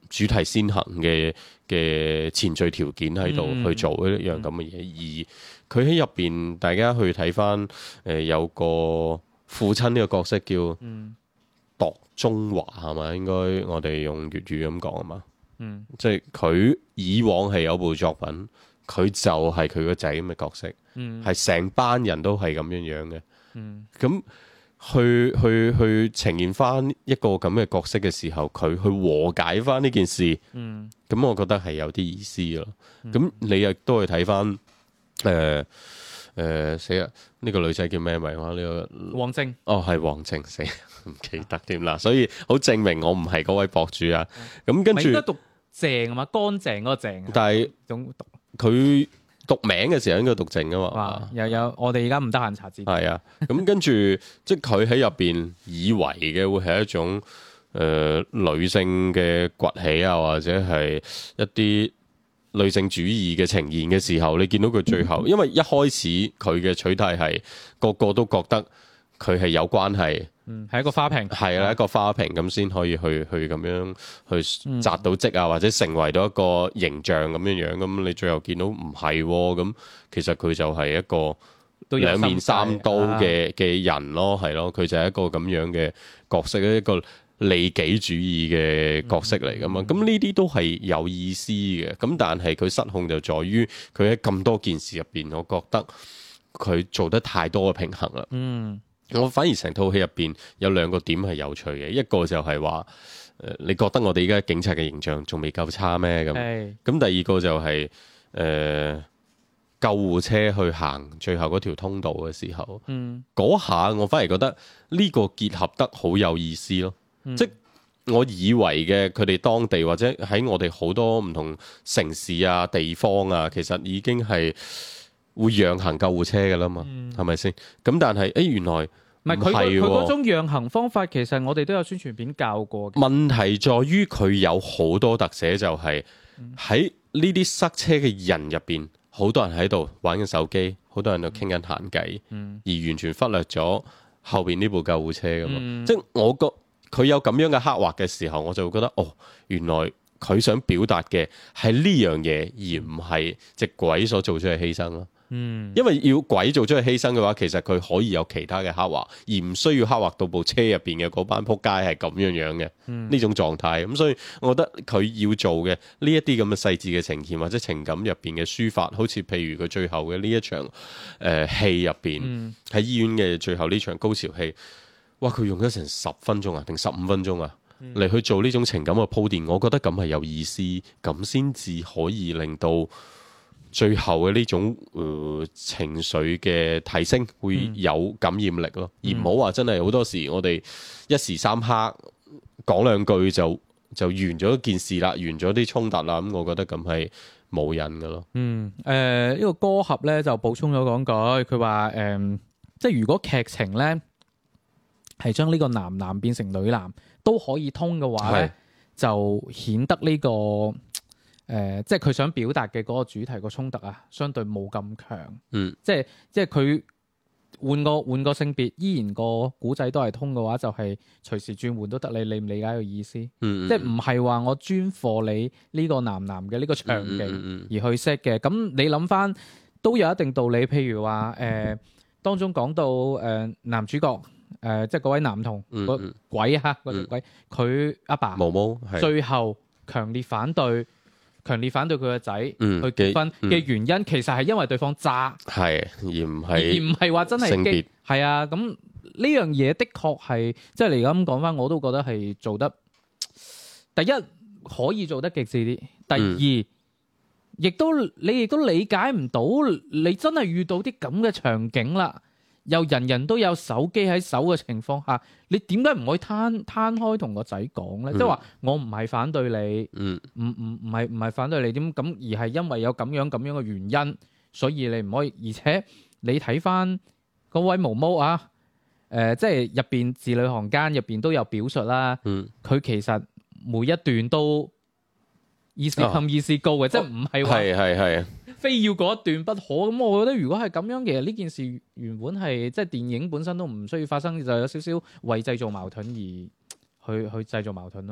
主題先行嘅嘅前序條件喺度去做一樣咁嘅嘢，嗯、而佢喺入邊，大家去睇翻誒有個父親呢個角色叫度中華係嘛？應該我哋用粵語咁講啊嘛，嗯、即係佢以往係有部作品，佢就係佢個仔咁嘅角色，係成、嗯、班人都係咁樣樣嘅，咁、嗯。去去去呈現翻一個咁嘅角色嘅時候，佢去和解翻呢件事，咁、嗯、我覺得係有啲意思咯。咁、嗯、你亦都去睇翻，誒誒死啦！呢、這個女仔叫咩名話？呢、這個王靜。哦， 係王靜，死唔記得添啦。所以好證明我唔係嗰位博主啊。咁、嗯、跟住應該讀鄭啊嘛，乾淨嗰個鄭。 但係佢。讀名嘅時候應該讀靜啊嘛， 又有我哋而家唔得閒查字。 係啊，咁跟住即係佢喺入邊以為嘅會係一種誒、呃、女性嘅崛起啊，或者係一啲女性主義嘅呈現嘅時候，你見到佢最後，因為一開始佢嘅取態係個個都覺得佢係有關係。 嗯，係一個花瓶， 係啦，嗯、一個花瓶咁先可以去去咁樣去紮到職啊，或者成為到一個形象咁樣樣。咁你最後見到唔係咁，其實佢就係一個兩面三刀嘅嘅人咯，係咯，佢就係一個咁樣嘅角色，一個利己主義嘅角色嚟噶嘛。咁呢啲都係有意思嘅。咁但係佢失控就在於佢喺咁多件事入邊，我覺得佢做得太多嘅平衡啦。嗯。我反而成套戲入邊有兩個點係有趣嘅，一個就係話，誒、呃，你覺得我哋而家警察嘅形象仲未夠差咩？咁，咁是第二個就係、是，誒、呃，救護車去行最後嗰條通道嘅時候，嗰、嗯、下我反而覺得呢個結合得好有意思咯。嗯、即我以為嘅佢哋當地或者喺我哋好多唔同城市啊、地方啊，其實已經係會讓行救護車嘅啦嘛，係咪先？咁但係，誒、欸，原來唔係佢佢嗰種讓行方法，其實我哋都有宣傳片教過嘅。問題在於佢有好多特寫，就係喺呢啲塞車嘅人入邊，好多人喺度玩緊手機，好多人都傾緊閒偈，嗯、而完全忽略咗後邊呢部救護車㗎嘛。嗯、即係我覺佢有咁樣嘅刻畫嘅時候，我就會覺得，哦，原來佢想表達嘅係呢樣嘢，而唔係隻鬼所做出嘅犧牲咯。嗯，因為要鬼做出去犧牲嘅話，其實佢可以有其他嘅刻畫，而唔需要刻畫到部車入邊嘅嗰班仆街係咁樣樣嘅呢、嗯、種狀態。咁所以我覺得佢要做嘅呢一啲咁嘅細緻嘅呈現或者情感入邊嘅抒發，好似譬如佢最後嘅呢一場誒戲入邊，喺、嗯、醫院嘅最後呢場高潮戲，哇！佢用咗成十分鐘啊，定十五分鐘啊，嚟、嗯、去做呢種情感嘅鋪墊，我覺得咁係有意思，咁先至可以令到最後嘅呢種誒、呃、情緒嘅提升會有感染力咯，嗯、而唔好話真係好多時我哋一時三刻講兩句就就完咗件事啦，完咗啲衝突啦，咁我覺得咁係冇癮嘅咯。嗯，誒、 呃、呢、這個歌俠咧就補充咗講句，佢話誒即係如果劇情咧係將呢個男男變成女男都可以通嘅話咧，是就顯得呢、這個。誒、呃，即係佢想表達嘅嗰個主題個衝突啊，相對冇咁強。嗯，即係即係佢換個換個性別，依然個古仔都係通嘅話，就係、是、隨時轉換都得。你理唔理解個意思？嗯嗯、即係唔係話我專課你呢個男男嘅呢個場景而去 set 嘅。咁、嗯嗯嗯、你諗翻都有一定道理。譬如話誒、呃，當中講到誒、呃、男主角誒、呃，即係嗰位男童個、嗯嗯、鬼嚇嗰條鬼，佢阿、嗯、爸毛毛最後強烈反對。強烈反對佢個仔去結婚嘅原因，嗯、其實係因為對方渣，係而唔係而唔係話真係性別係啊。咁呢樣嘢的確係，即係你而家咁講翻，我都覺得係做得第一可以做得極致啲，第二亦、嗯、都你亦都理解唔到，你真係遇到啲咁嘅場景啦。又人人都有手機喺手嘅情況下，你點解唔可以攤攤開同個仔講咧？即係話我唔係反對你，唔唔唔係唔係反對你點咁，而係因為有咁樣咁樣嘅原因，所以你唔可以。而且你睇翻嗰位毛毛啊，誒、呃，即係入邊字裏行間入邊都有表述啦。佢、嗯、其實每一段都意思冚意思高嘅，哦、即係唔係話係係係。非要嗰一段不可，咁我覺得如果係咁樣，其實呢件事原本係即係電影本身都唔需要發生，就有少少為製造矛盾而去去製造矛盾咯。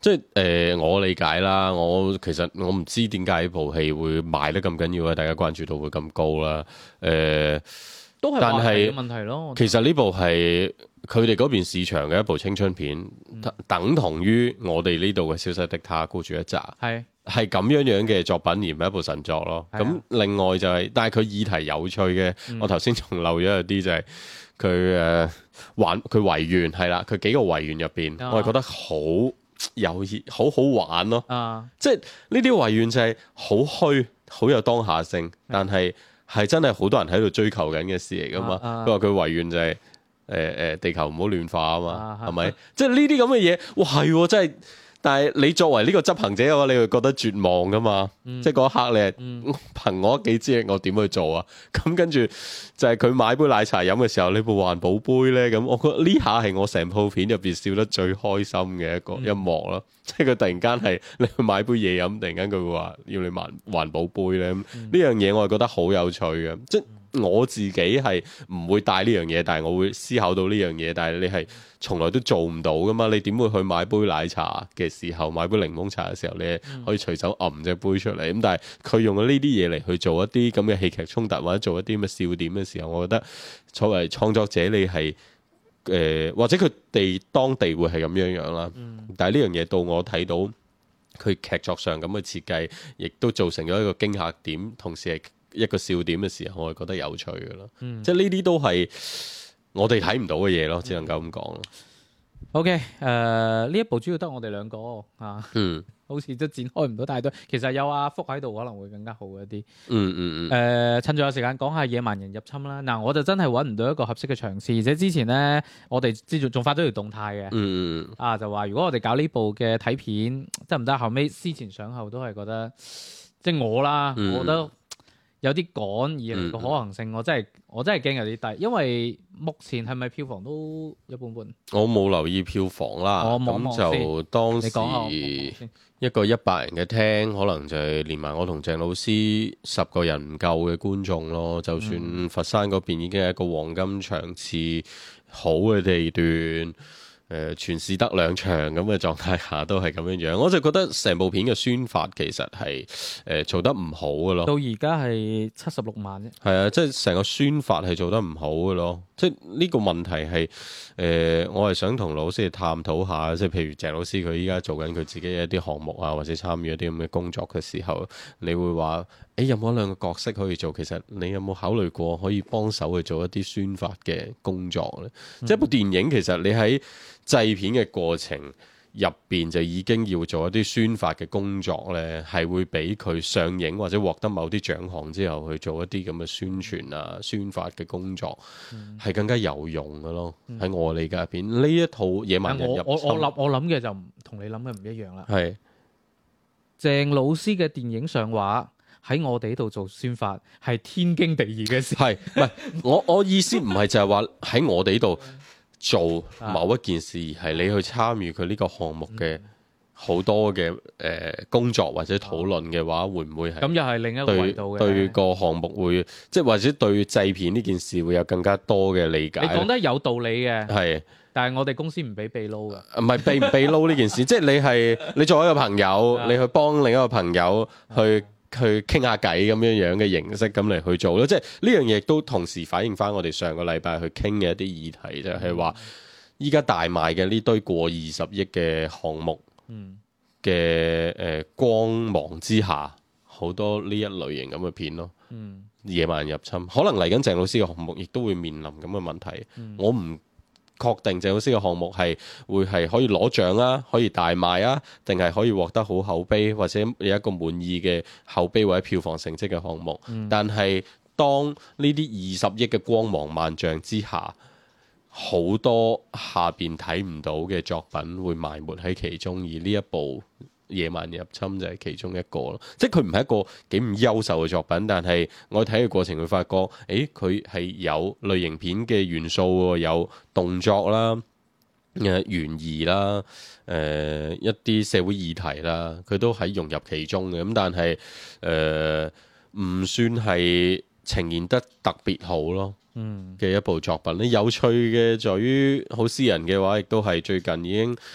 即係誒、呃，我理解啦。我其實我唔知點解呢部戲會賣得咁緊要啊，大家關注度會咁高啦。誒、呃， 都係但係嘅問題咯。 其實呢部係佢哋嗰邊市場嘅一部青春片， 嗯、 等同於我哋呢度嘅《消失的她》孤注一擲。 係係咁樣樣嘅作品，而唔係一部神作咯。咁、啊、另外就係、是，但係佢議題有趣嘅，嗯、我頭先仲漏咗一啲就係佢誒玩佢維園係啦，佢幾個維園入邊，啊、我係覺得好有意，好好玩咯。啊、即係呢啲維園就係好虛，好有當下性，啊、但係係真係好多人喺度追求緊嘅事嚟噶嘛。佢話佢維園就係誒誒地球唔好暖化啊嘛，係咪？即係呢啲咁嘅嘢，哇係真係。但係你作為呢個執行者嘅話，你會覺得絕望噶嘛？嗯、即係嗰一刻你係、嗯、憑我幾知我點去做啊？咁跟住就係佢買杯奶茶飲嘅時候，呢部環保杯咧，咁我覺得呢下係我成套片入邊笑得最開心嘅一個一幕咯。嗯、即係佢突然間係你去買杯嘢飲，突然間佢會話要你環環保杯咧，呢、嗯、樣嘢我係覺得好有趣嘅。即係我自己係唔會帶呢樣嘢，但係我會思考到呢樣嘢。但係你係從來都做唔到噶嘛？你點會去買杯奶茶嘅時候，買杯檸檬茶嘅時候，你可以隨手揞隻杯出嚟？咁、嗯、但係佢用咗呢啲嘢嚟去做一啲咁嘅戲劇衝突，或者做一啲咁嘅笑點嘅時候，我覺得作為創作者，你係誒、呃、或者佢哋當地會係咁樣樣啦。嗯、但係呢樣嘢到我睇到佢劇作上咁嘅設計，亦都造成咗一個驚嚇點，同時係一個笑點嘅時候，我係覺得有趣嘅咯。嗯、即係呢啲都係我哋睇唔到嘅嘢咯，只能夠咁講咯。 OK，誒呢一部主要得我哋兩個啊，嗯，好似都展開唔到太多。其實有阿福喺度可能會更加好一啲。嗯嗯嗯。誒、呃，趁住有時間講下野蠻人入侵啦。嗱，我就真係揾唔到一個合適嘅場次，而且之前咧，我哋之前仲發咗條動態嘅。嗯嗯。啊，就話如果我哋搞呢部嘅睇片得唔得？後尾思前想後都係覺得，即係我啦，嗯、我覺得。有啲趕而嚟個可行性，嗯、我真係我真係驚有啲低，因為目前係咪票房都一般般？我冇留意票房啦，咁就當時一個一百人嘅廳，可能就係連埋我同鄭老師十個人唔夠嘅觀眾咯。就算佛山嗰邊已經係一個黃金場次，好嘅地段。誒、呃、全市得兩場咁嘅狀態下都係咁樣樣，我就覺得成部片嘅宣發其實係誒、呃、做得唔好嘅咯。 到而家係七十六萬啫。 係啊，即係成個宣發係做得唔好嘅咯。即係呢個問題係誒、呃，我係想同老師去探討下，即係譬如鄭老師佢依家做緊佢自己嘅一啲項目啊，或者參與一啲咁嘅工作嘅時候，你會話誒有冇兩個角色可以做？其實你有冇考慮過可以幫手去做一啲宣發嘅工作咧？嗯、即係一部電影，其實你喺製片嘅過程入邊就已經要做一啲宣發嘅工作咧，係會俾佢上映或者獲得某啲獎項之後去做一啲咁嘅宣傳啊、宣發嘅工作，係、嗯、更加有用嘅咯。喺、嗯、我理解入邊，呢一套野蠻人入侵， 我我諗我諗嘅就同你諗嘅唔一樣啦。 係是鄭老師嘅電影上畫喺我哋呢度做宣發係天經地義嘅事。係唔係？我我意思唔係就係話喺我哋呢度做某一件事，而係你去參與佢呢個項目嘅好多嘅誒、呃、工作或者討論嘅話，會唔會係咁又係另一個維度嘅對個項目會即係或者對製片呢件事會有更加多嘅理解？ 你講得有道理嘅， 係是， 但係我哋公司唔俾秘撈㗎， 唔係秘唔秘撈呢件事，即係你係你作為一個朋友，你去幫另一個朋友去。去傾下偈咁樣樣嘅形式咁嚟去做咯，即係呢樣嘢亦都同時反映翻我哋上個禮拜去傾嘅一啲議題，就係話依家大賣嘅呢堆過二十億嘅項目嘅誒光芒之下，好多呢一類型咁嘅片咯。嗯、野蠻入侵，可能嚟緊鄭老師嘅項目亦都會面臨咁嘅問題。嗯、我唔確定鄭老師嘅項目係會係可以攞獎啊，可以大賣啊，定係可以獲得好口碑，或者有一個滿意嘅口碑或者票房成績嘅項目。嗯、但係當呢啲二十億嘅光芒萬丈之下，好多下邊睇唔到嘅作品會埋沒喺其中，而呢一部野蠻入侵就係其中一個咯，即係佢唔係一個幾唔優秀嘅作品，但係我睇嘅過程會發覺，誒佢係有類型片嘅元素，有動作啦、誒懸疑啦、誒、呃、一啲社會議題啦，佢都喺融入其中嘅。咁但係誒唔算係呈現得特別好咯。嗯嘅一部作品咧，有趣嘅在於好私人嘅話，亦都係最近已經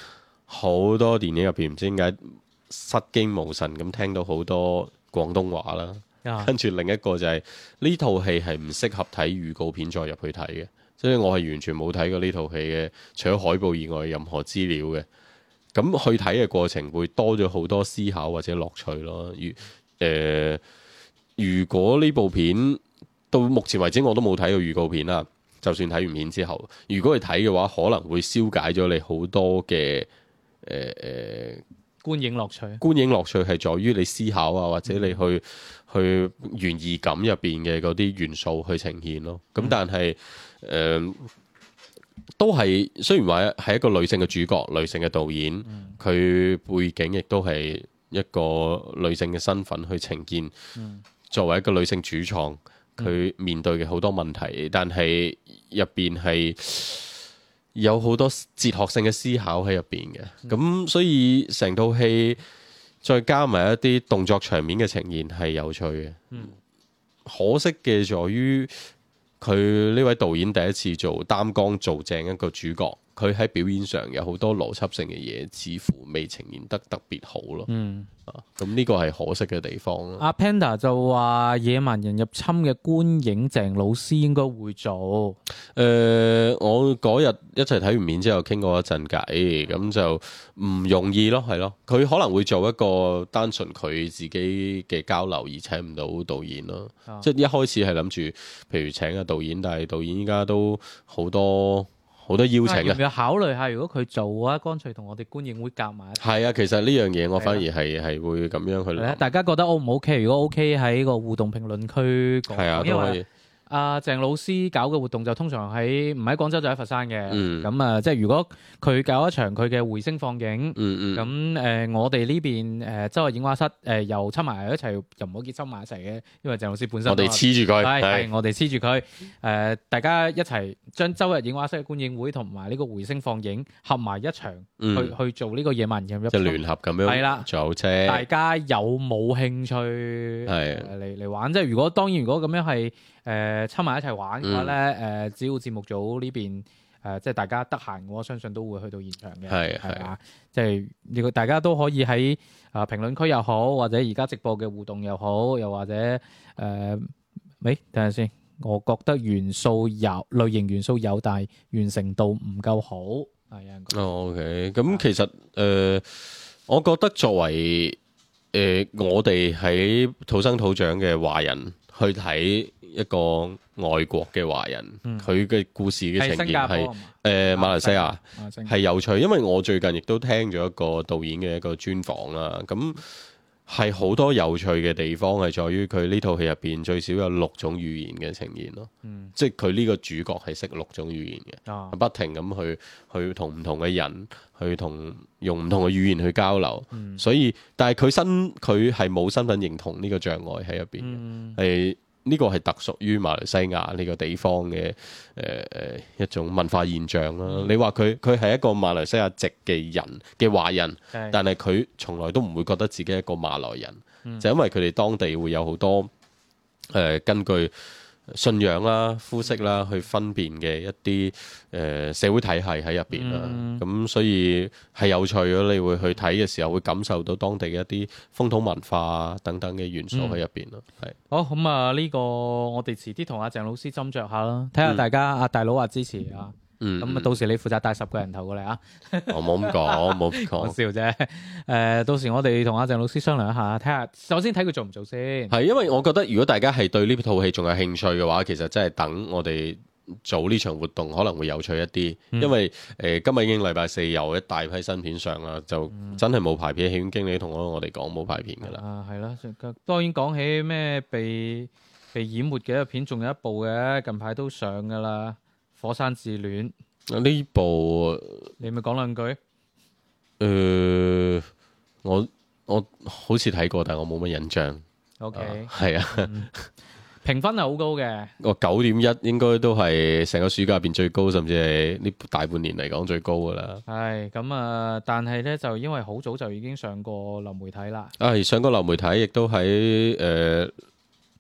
好多電影入邊唔知點解失驚無神咁聽到好多廣東話啦。 啊跟住另一個就係呢套戲係唔適合睇預告片再入去睇嘅，所以我係完全冇睇過呢套戲嘅，除咗海報以外任何資料嘅。咁去睇嘅過程會多咗好多思考或者樂趣咯。如誒、呃，如果呢部片到目前為止我都冇睇過預告片啦，就算睇完片之後，如果去睇嘅話，可能會消解咗你好多嘅誒誒觀影樂趣， 觀影樂趣係在於你思考啊，或者你去去懸疑感入邊嘅嗰啲元素去呈現咯。咁但係誒、呃、都係雖然話係一個女性嘅主角、女性嘅導演，佢、嗯、背景亦都係一個女性嘅身份去呈現。嗯、作為一個女性主創，佢面對嘅好多問題，但係入邊係有好多哲學性嘅思考喺入邊嘅，咁、嗯、所以成套戲再加埋一啲動作場面嘅呈現係有趣嘅。嗯、可惜嘅在於佢呢位導演第一次做擔綱做正一個主角，佢喺表演上有好多邏輯性嘅嘢，似乎未呈現得特別好咯。嗯，咁呢個係可惜嘅地方咯。 阿 Panda 就話野蠻人入侵嘅觀影，鄭老師應該會做。誒、 呃，我嗰日一齊睇完片之後傾過一陣偈，咁就唔容易咯，係咯。佢可能會做一個單純佢自己嘅交流，而請唔到導演咯。啊、即係一開始係諗住，譬如請個導演，但係導演依家都好多。好多邀請嘅， 要唔要考慮下？如果佢做啊，乾脆同我哋觀影會夾埋。 係啊，其實呢樣嘢我反而係係會咁樣去諗。 大家覺得 O 唔 OK？如果 OK 喺個互動評論區講， 係啊，都可以。 阿鄭老師搞嘅活動就通常喺唔喺廣州就喺佛山嘅，咁啊、 嗯、 即係如果佢搞一場佢嘅回聲放映，咁誒、 嗯嗯呃、我哋呢邊誒周日映畫室誒、呃、又湊埋一齊，又唔好結親埋一齊嘅，因為鄭老師本身我哋黐住佢， 係係我哋黐住佢，誒、呃、大家一齊將周日映畫室嘅觀影會同埋呢個回聲放映合埋一場， 嗯、 去去做呢個野蠻人入即係聯合咁樣， 係啦， 做啫。 大家有冇興趣係嚟嚟玩？即係如果當然，如果咁樣係。誒湊埋一齊玩嘅話咧，誒、嗯、只要節目組呢邊誒、呃、即係大家得閒，我相信都會去到現場嘅， 係係嘛？即係如果大家都可以喺啊評論區又好，或者而家直播嘅互動又好，又或者誒，喂等陣先，我覺得元素有類型元素有，但係完成度唔夠好，係啊。 哦 OK，咁其實誒、呃，我覺得作為誒、呃、我哋喺土生土長嘅華人去睇一個外國嘅華人，佢嘅、嗯、故事嘅呈現係誒馬來西亞係有趣，因為我最近亦都聽咗一個導演嘅一個專訪啦。咁係好多有趣嘅地方係在於佢呢套戲入邊最少有六種語言嘅呈現咯。嗯、即係佢呢個主角係識六種語言嘅，啊、不停咁去去同唔同嘅人去同用唔同嘅語言去交流。嗯、所以但係佢身佢係冇身份認同呢個障礙喺入邊嘅，係、嗯。呢個係特屬於馬來西亞呢個地方嘅誒誒一種文化現象啦。嗯、你話佢佢係一個馬來西亞籍嘅人嘅華人，是但係佢從來都唔會覺得自己係一個馬來人，嗯、就因為佢哋當地會有好多誒、呃、根據信仰啦、膚色啦去分辨嘅一啲誒、呃、社會體系喺入邊啦，咁、嗯、所以係有趣咯。你會去睇嘅時候，會感受到當地嘅一啲風土文化等等嘅元素喺入邊咯。係、嗯、是好咁啊！呢、這個我哋遲啲同阿鄭老師斟酌下啦，睇下大家阿、嗯、大佬話支持啊。嗯，咁啊，到時你負責帶十個人頭過嚟啊！ 我冇咁講，冇咁講， 笑啫。誒、呃，到時我哋同阿鄭老師商量一下，睇下首先睇佢做唔做先。 係，因為我覺得如果大家係對呢套戲仲有興趣嘅話，其實真係等我哋做呢場活動可能會有趣一啲。嗯、因為誒、呃、今日已經禮拜四，有一大批新片上啦，就真係冇排片。戲院經理同我我哋講冇排片噶啦。 啊，係啦。當然講起咩被被淹沒嘅片，仲有一部嘅，近排都上噶啦。火山自戀呢部， 你咪講兩句。誒、 呃，我我好似睇過，但係我冇乜印象。 O K， 係啊， 評分係好高嘅。 我九點一應該都係成個暑假入邊最高，甚至係呢大半年嚟講最高噶啦。 係咁啊，但係咧就因為好早就已經上過流媒體啦。 啊，上過流媒體，亦都喺誒。呃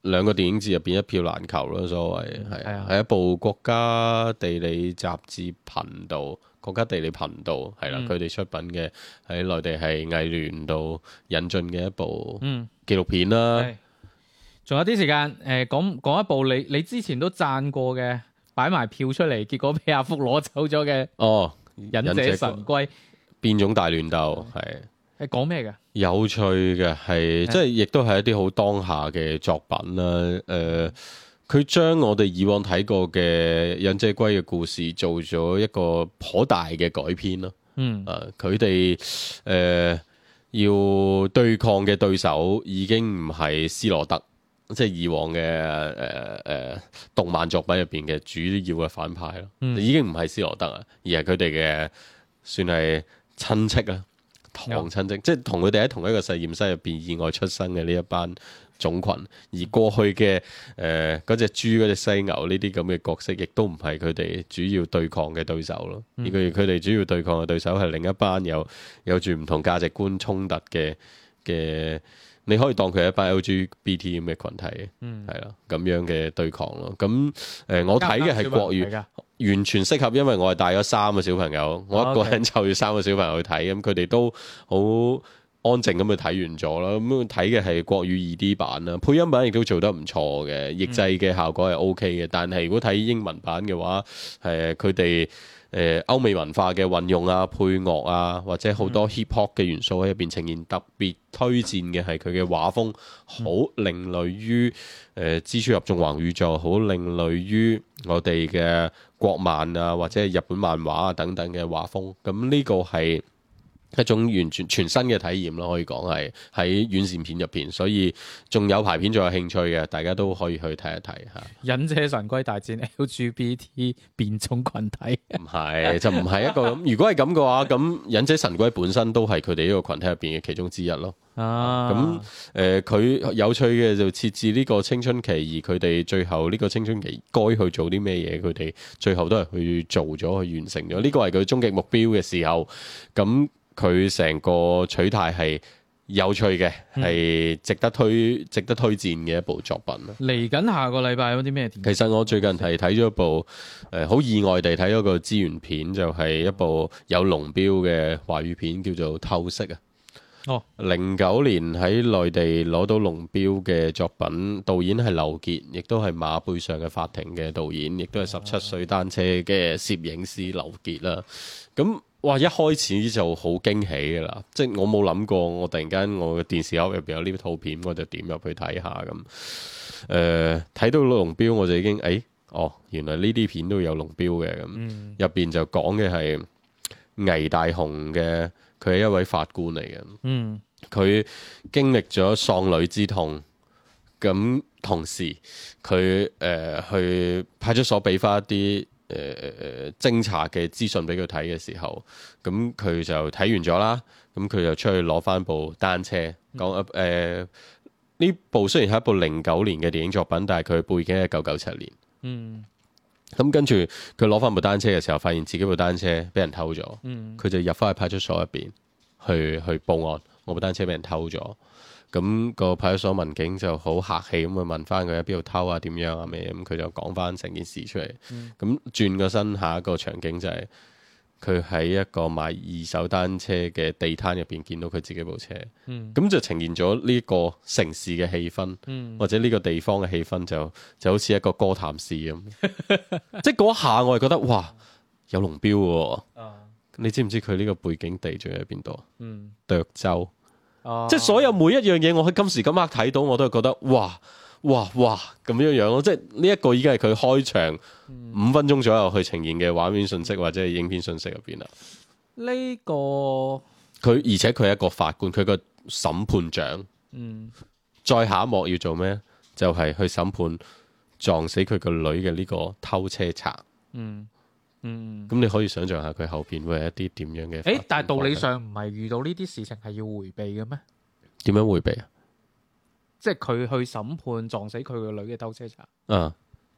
兩個電影節入邊一票難求咯，所謂係係係一部國家地理雜誌頻道。國家地理頻道係啦，佢哋、嗯、出品嘅喺內地係藝聯度引進嘅一部紀錄片啦。 仲、嗯、有啲時間，誒、呃、講講一部你你之前都讚過嘅，擺埋票出嚟，結果俾阿福攞走咗嘅。哦，忍者神龜變種大亂鬥係係講咩嘅？ 有趣嘅係，即係亦都係一啲好當下嘅作品啦。誒、呃。佢將我哋以往睇過嘅忍者龜嘅故事做咗一個頗大嘅改編咯。嗯，啊，佢哋誒要對抗嘅對手已經唔係斯羅德，即係以往嘅誒誒動漫作品入邊嘅主要嘅反派咯。嗯、已經唔係斯羅德啊，而係佢哋嘅算係親戚啊，堂親戚，嗯、即係同佢哋喺同一個實驗室入邊意外出生嘅呢一班種群，而過去嘅誒嗰隻豬、嗰隻犀牛呢啲咁嘅角色，亦都唔係佢哋主要對抗嘅對手咯。而佢佢哋主要對抗嘅對手係另一班有有住唔同價值觀衝突嘅嘅，你可以當佢係一班 L G B T 咁嘅群體，係啦咁樣嘅對抗咯。咁誒、呃，我睇嘅係國語，完全適合，因為我係帶咗三個小朋友，我一個人就要三個小朋友去睇，咁佢哋都好安靜咁去睇完咗啦，咁睇嘅係國語二 D 版啦，配音版亦都做得唔錯嘅，譯製嘅效果係 O K 嘅。但係如果睇英文版嘅話，誒佢哋誒歐美文化嘅運用啊、配樂啊，或者好多 hip hop 嘅元素喺入邊呈現，特別推薦嘅係佢嘅畫風，好另類於誒、呃、蜘蛛俠縱橫宇宙，好另類於我哋嘅國漫啊，或者係日本漫畫啊等等嘅畫風。咁呢個係一種完全全新嘅體驗咯，可以講係喺院線片入邊，所以仲有排片仲有興趣嘅，大家都可以去睇一睇嚇。忍者神龜大戰 L G B T 變種群體， 唔係就唔係一個咁。如果係咁嘅話，咁忍者神龜本身都係佢哋呢個群體入邊嘅其中之一咯。啊，咁誒佢有趣嘅就設置呢個青春期，而佢哋最後呢個青春期該去做啲咩嘢，佢哋最後都係去做咗，去完成咗。呢個係佢終極目標嘅時候，咁。佢成個取態係有趣嘅，係、嗯、值得推值得推薦嘅一部作品。 嚟緊下，下個禮拜有啲咩電影？ 其實我最近係睇咗一部誒，好、呃、意外地睇咗個資源片，就係、是、一部有龍標嘅華語片，叫做《透析》啊。哦，零九年喺內地攞到龍標嘅作品，導演係劉傑，亦都係馬背上嘅法庭嘅導演，亦都係十七歲單車嘅攝影師劉傑啦。咁哇！一開始就好驚喜㗎啦，即係我冇諗過，我突然間我嘅電視盒入邊有呢套片，我就點入去睇下咁。誒、呃，睇到龍標我就已經誒、哎，哦，原來呢啲片都有龍標嘅咁。入邊、嗯、就講嘅係倪大紅嘅，佢係一位法官嚟嘅。嗯，佢經歷咗喪女之痛，咁同時佢誒、呃、去派出所俾翻一啲。誒誒誒，偵查嘅資訊俾佢睇嘅時候，咁佢就睇完咗啦。咁佢就出去攞翻部單車，講誒呢部雖然係一部零九年嘅電影作品，但係佢背景係一九九七年。嗯。咁跟住佢攞翻部單車嘅時候，發現自己部單車俾人偷咗。嗯。佢就入翻去派出所入邊去去報案，我部單車俾人偷咗。咁個派出所民警就好客氣咁去問翻佢喺邊度偷啊，點樣啊咩咁，佢就講翻成件事出嚟。咁、嗯、轉個身，下一個場景就係佢喺一個賣二手單車嘅地攤入邊見到佢自己部車。咁、嗯、就呈現咗呢個城市嘅氣氛，嗯、或者呢個地方嘅氣氛就就好似一個哥譚市咁。即係嗰一下我係覺得哇，有龍標喎！啊、你知唔知佢呢個背景地仲喺邊度啊？嗯，涿州。Oh. 即係所有每一樣嘢，我喺今時今刻睇到，我都係覺得哇哇哇咁樣樣咯。即係呢一個已經係佢開場五分鐘左右去呈現嘅畫面信息或者係影片信息入邊啦。 呢、這個佢而且佢係一個法官，佢個審判長。嗯。再下一幕要做咩？就係、是、去審判撞死佢個女嘅呢個偷車賊。嗯。嗯，咁你可以想象下佢後邊會係一啲點樣嘅？ 誒，但係道理上唔係遇到呢啲事情係要迴避嘅咩？ 點樣迴避啊？ 即係佢去審判撞死佢個女嘅偷車賊。 啊，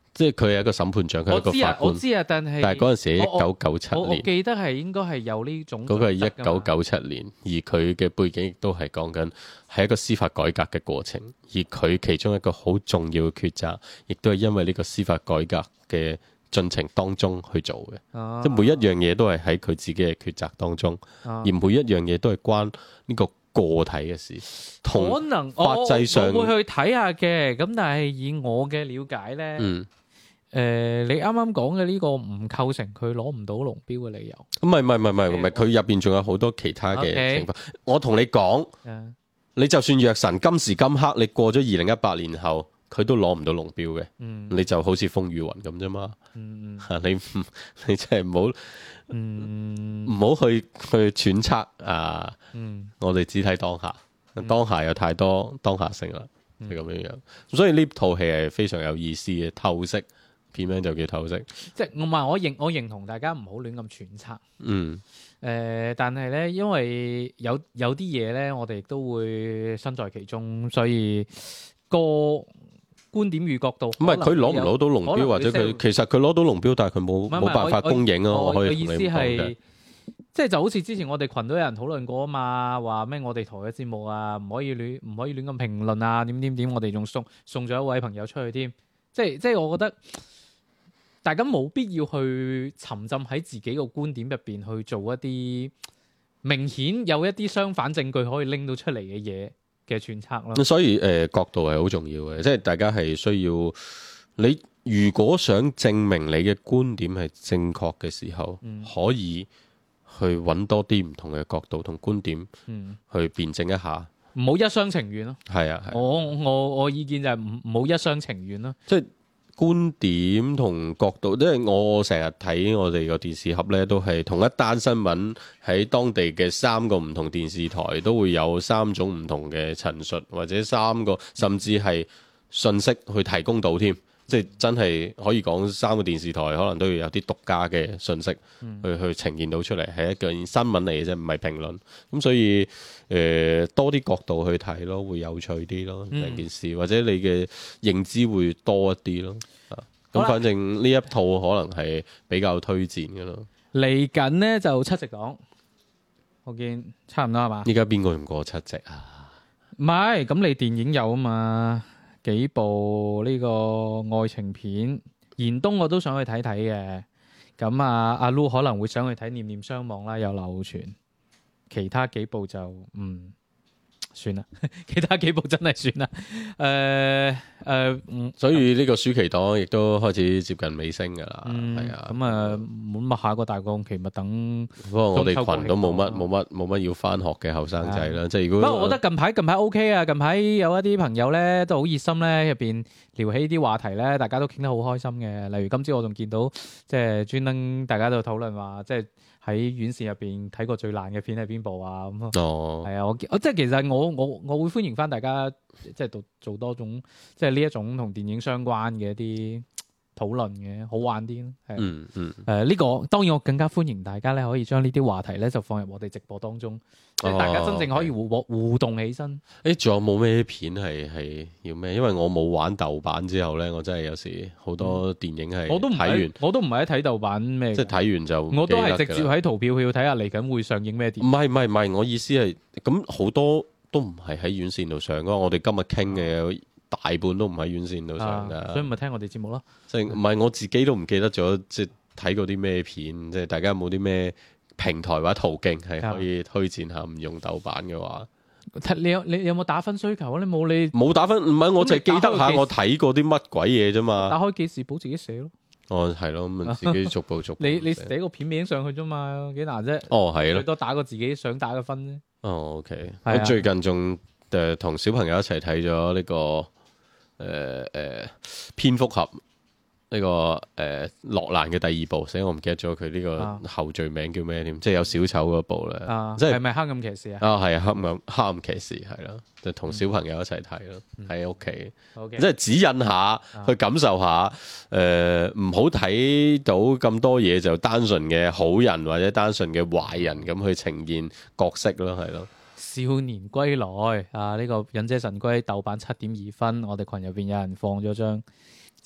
即係佢係一個審判長，佢係一個我知啊， 法官。 我知啊，但係但係嗰陣時係一九九七我我年， 記得係應該係有呢種嗰個係一準則㗎嘛九九七年，而佢嘅背景亦都係講緊係一個司法改革嘅過程，而佢其中一個好重要嘅抉擇，亦都係因為呢個司法改革嘅進程當中去做嘅， 啊即係每一樣嘢都係喺佢自己嘅抉擇當中， 啊而每一樣嘢都係關呢個個體嘅事， 可同能法制上我我會去睇下嘅，咁但係以我嘅了解咧，誒、 嗯， 你啱啱講嘅呢個唔構成佢攞唔到龍標嘅理由。 唔係唔係唔係唔係唔係，佢入邊仲有好多其他嘅 OK 情況。我同你講， 誒你就算藥神今時今刻，你過咗二零一八年後，佢都攞唔到龍標嘅， 嗯你就好似風雨雲咁啫嘛。 嗯你唔你真係唔好嗯唔好去去揣測啊！ 嗯我哋只睇當下，當下有太多當下性啦， 嗯係咁樣樣。所以呢套戲係非常有意思嘅，透析片名就叫透析。 即係我唔係我認我認同大家唔好亂咁揣測。 嗯誒、但係咧，因為有有啲嘢咧，我哋亦都會身在其中，所以個觀點與角度唔係佢攞唔攞到龍標，或者佢其實佢攞到龍標，但係佢冇唔係冇辦法公映啊！ 我我可以意思同你咁講嘅係，即係就好似之前我哋群都有人討論過啊嘛，話咩我哋台嘅節目啊，唔可以亂唔可以亂咁評論啊，點點點，我哋仲送送咗一位朋友出去添，即係即係我覺得大家冇必要去沉浸喺自己個觀點入邊去做一啲明顯有一啲相反證據可以拎到出嚟嘅嘢嘅揣測咯。 咁所以誒、呃、角度係好重要嘅，即係大家係需要你如果想證明你嘅觀點係正確嘅時候， 嗯可以去揾多啲唔同嘅角度同觀點嗯， 去辯證一下。 唔好一廂情願咯。 係啊，係啊我我我意見就係唔唔好一廂情願咯。 即係觀點同角度，因為我成日睇我哋個電視盒呢，都係同一單新聞喺當地嘅三個唔同電視台都會有三種唔同嘅陳述，或者三個甚至係信息去提供到添。即係真係可以講三個電視台可能都要有啲獨家嘅信息去、 嗯去呈現到出嚟，係一件新聞嚟嘅啫，唔係評論。咁所以誒、呃、多啲角度去睇咯，會有趣啲咯嗯成件事，或者你嘅認知會多一啲咯。啊， 好啦咁反正呢一套可能係比較推薦嘅咯。 嚟緊呢就七夕檔，我見差唔多係嘛？ 依家邊個用過七夕啊？ 唔係，咁你電影有啊嘛？幾部呢個愛情片，燃冬我都想去睇睇嘅。咁啊，阿 Lu 可能會想去睇《念念相望》啦，有流傳。其他幾部就嗯算啦，其他幾部真係算啦。誒、誒，嗯所以呢個暑期檔亦都開始接近尾聲㗎啦。 嗯， 係啊， 咁啊，咁啊，下個大檔期咪等。 不過我哋中秋群都冇乜國慶檔冇乜冇乜要翻學嘅後生仔啦。即係如不果過我覺得近排近排 O K 啊，近排有一啲朋友咧都好熱心咧，入邊聊起啲話題咧，大家都傾得好開心嘅。例如今朝我仲見到，即係專登大家都討論話，即係喺院線入邊睇過最爛嘅片係邊部啊咁啊。 哦， 係啊，我我即係其實我我我會歡迎翻大家，即係做做多種，即係呢一種同電影相關嘅一啲討論嘅，好玩啲咯。係啊嗯嗯。 誒呢個當然我更加歡迎大家咧，可以將呢啲話題咧就放入我哋直播當中，即係大家真正可以互互互動起身。 誒，仲有冇咩片係係要咩？因為我冇玩豆瓣之後咧，我真係有時好多電影係我都唔睇完係，，我都唔係喺睇豆瓣咩嘅， 即係睇完就我都係直接喺喺淘票票睇下嚟緊會上映咩電唔係唔係唔係，我意思係咁好多都唔係喺院線度上㗎。我哋今日傾嘅大半都唔喺院線度上啊， 㗎。 所以咪聽我哋節目咯。 即係唔係我自己都唔記得咗，即係睇過啲咩片，即係大家有冇啲咩平台或者途徑係可以推薦下？唔用豆瓣嘅話， 睇你有你有冇打分需求啊？你冇你冇打分，唔係我就係記得下咁你打開個我睇過啲乜鬼嘢啫嘛。 打開記事簿自己寫咯。 哦，係咯，咁啊自己逐步逐步你你寫寫個片名上去啫嘛，幾難啫？ 哦，係咯， 最多打個自己想打嘅分啫。 哦，OK， 係啊我最近仲誒同小朋友一齊睇咗呢個誒誒蝙蝠俠呢個誒諾蘭嘅第二部，所以我唔記得咗佢呢啊個後序名叫咩添，即係有小丑嗰部咧， 啊， 即係係咪黑暗騎士啊？ 啊係啊黑暗黑暗騎士係咯，就同小朋友一齊睇咯，喺屋企。 好嘅， 即係指引下，去感受下，誒唔好睇到咁多嘢就單純嘅好人或者單純嘅壞人咁去呈現角色咯，係咯。 少年歸來啊！呢、個忍者神龜豆瓣七點二分，我哋群入邊有人放咗張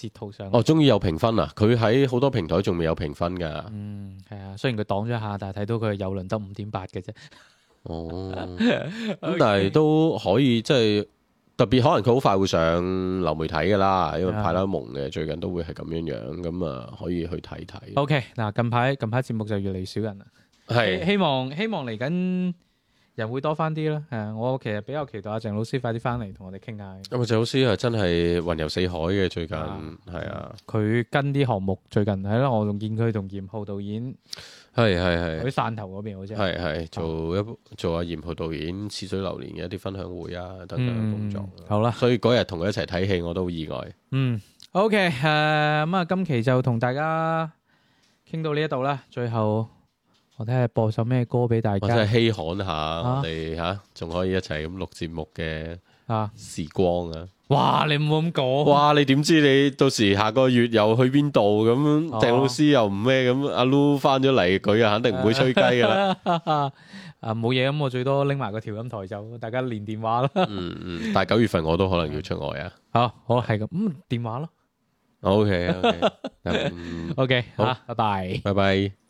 截圖上。 哦，終於有評分啦！佢喺好多平台仲未有評分㗎。 嗯，係啊，雖然佢擋咗一下，但係睇到佢有輪得五點八嘅啫。 哦，咁但係都可以，即係特別可能佢好快會上流媒體㗎啦，因為派拉蒙嘅最近都會係咁樣樣，咁啊可以去睇睇。 OK，嗱近排近排節目就越嚟越少人啦， 係希希望希望嚟緊人會多翻啲啦。誒，我其實比較期待阿鄭老師快啲翻嚟同我哋傾下。 咁啊，鄭老師係真係雲遊四海嘅最近， 啊係啊， 佢跟啲項目最近係咯，我仲見佢同嚴浩導演係係係喺汕頭嗰邊好似係係做一做阿嚴浩導演《似水流年》嘅一啲分享會啊等等嘅工作。 嗯好啦， 所以嗰日同佢一齊睇戲，我都好意外。 嗯，OK，誒咁啊，今期就同大家傾到呢一度啦。最後我睇下播首咩歌俾大我真家係稀罕下，我哋嚇仲可以一齊咁錄節目嘅啊！ 時光啊！ 哇，你唔好咁講。 哇！你點知你到時下個月又去邊度咁？ 哦鄭老師又唔咩咁？阿 Lu 翻咗嚟，佢啊肯定唔會吹雞噶啦。 啊冇嘢咁，我最多拎埋個調音台就大家連電話啦。 嗯嗯，但係九月份我都可能要出外啊。 好，好係咁，嗯電話咯。 OK OK，嗯 OK， 好好，拜拜。 拜拜。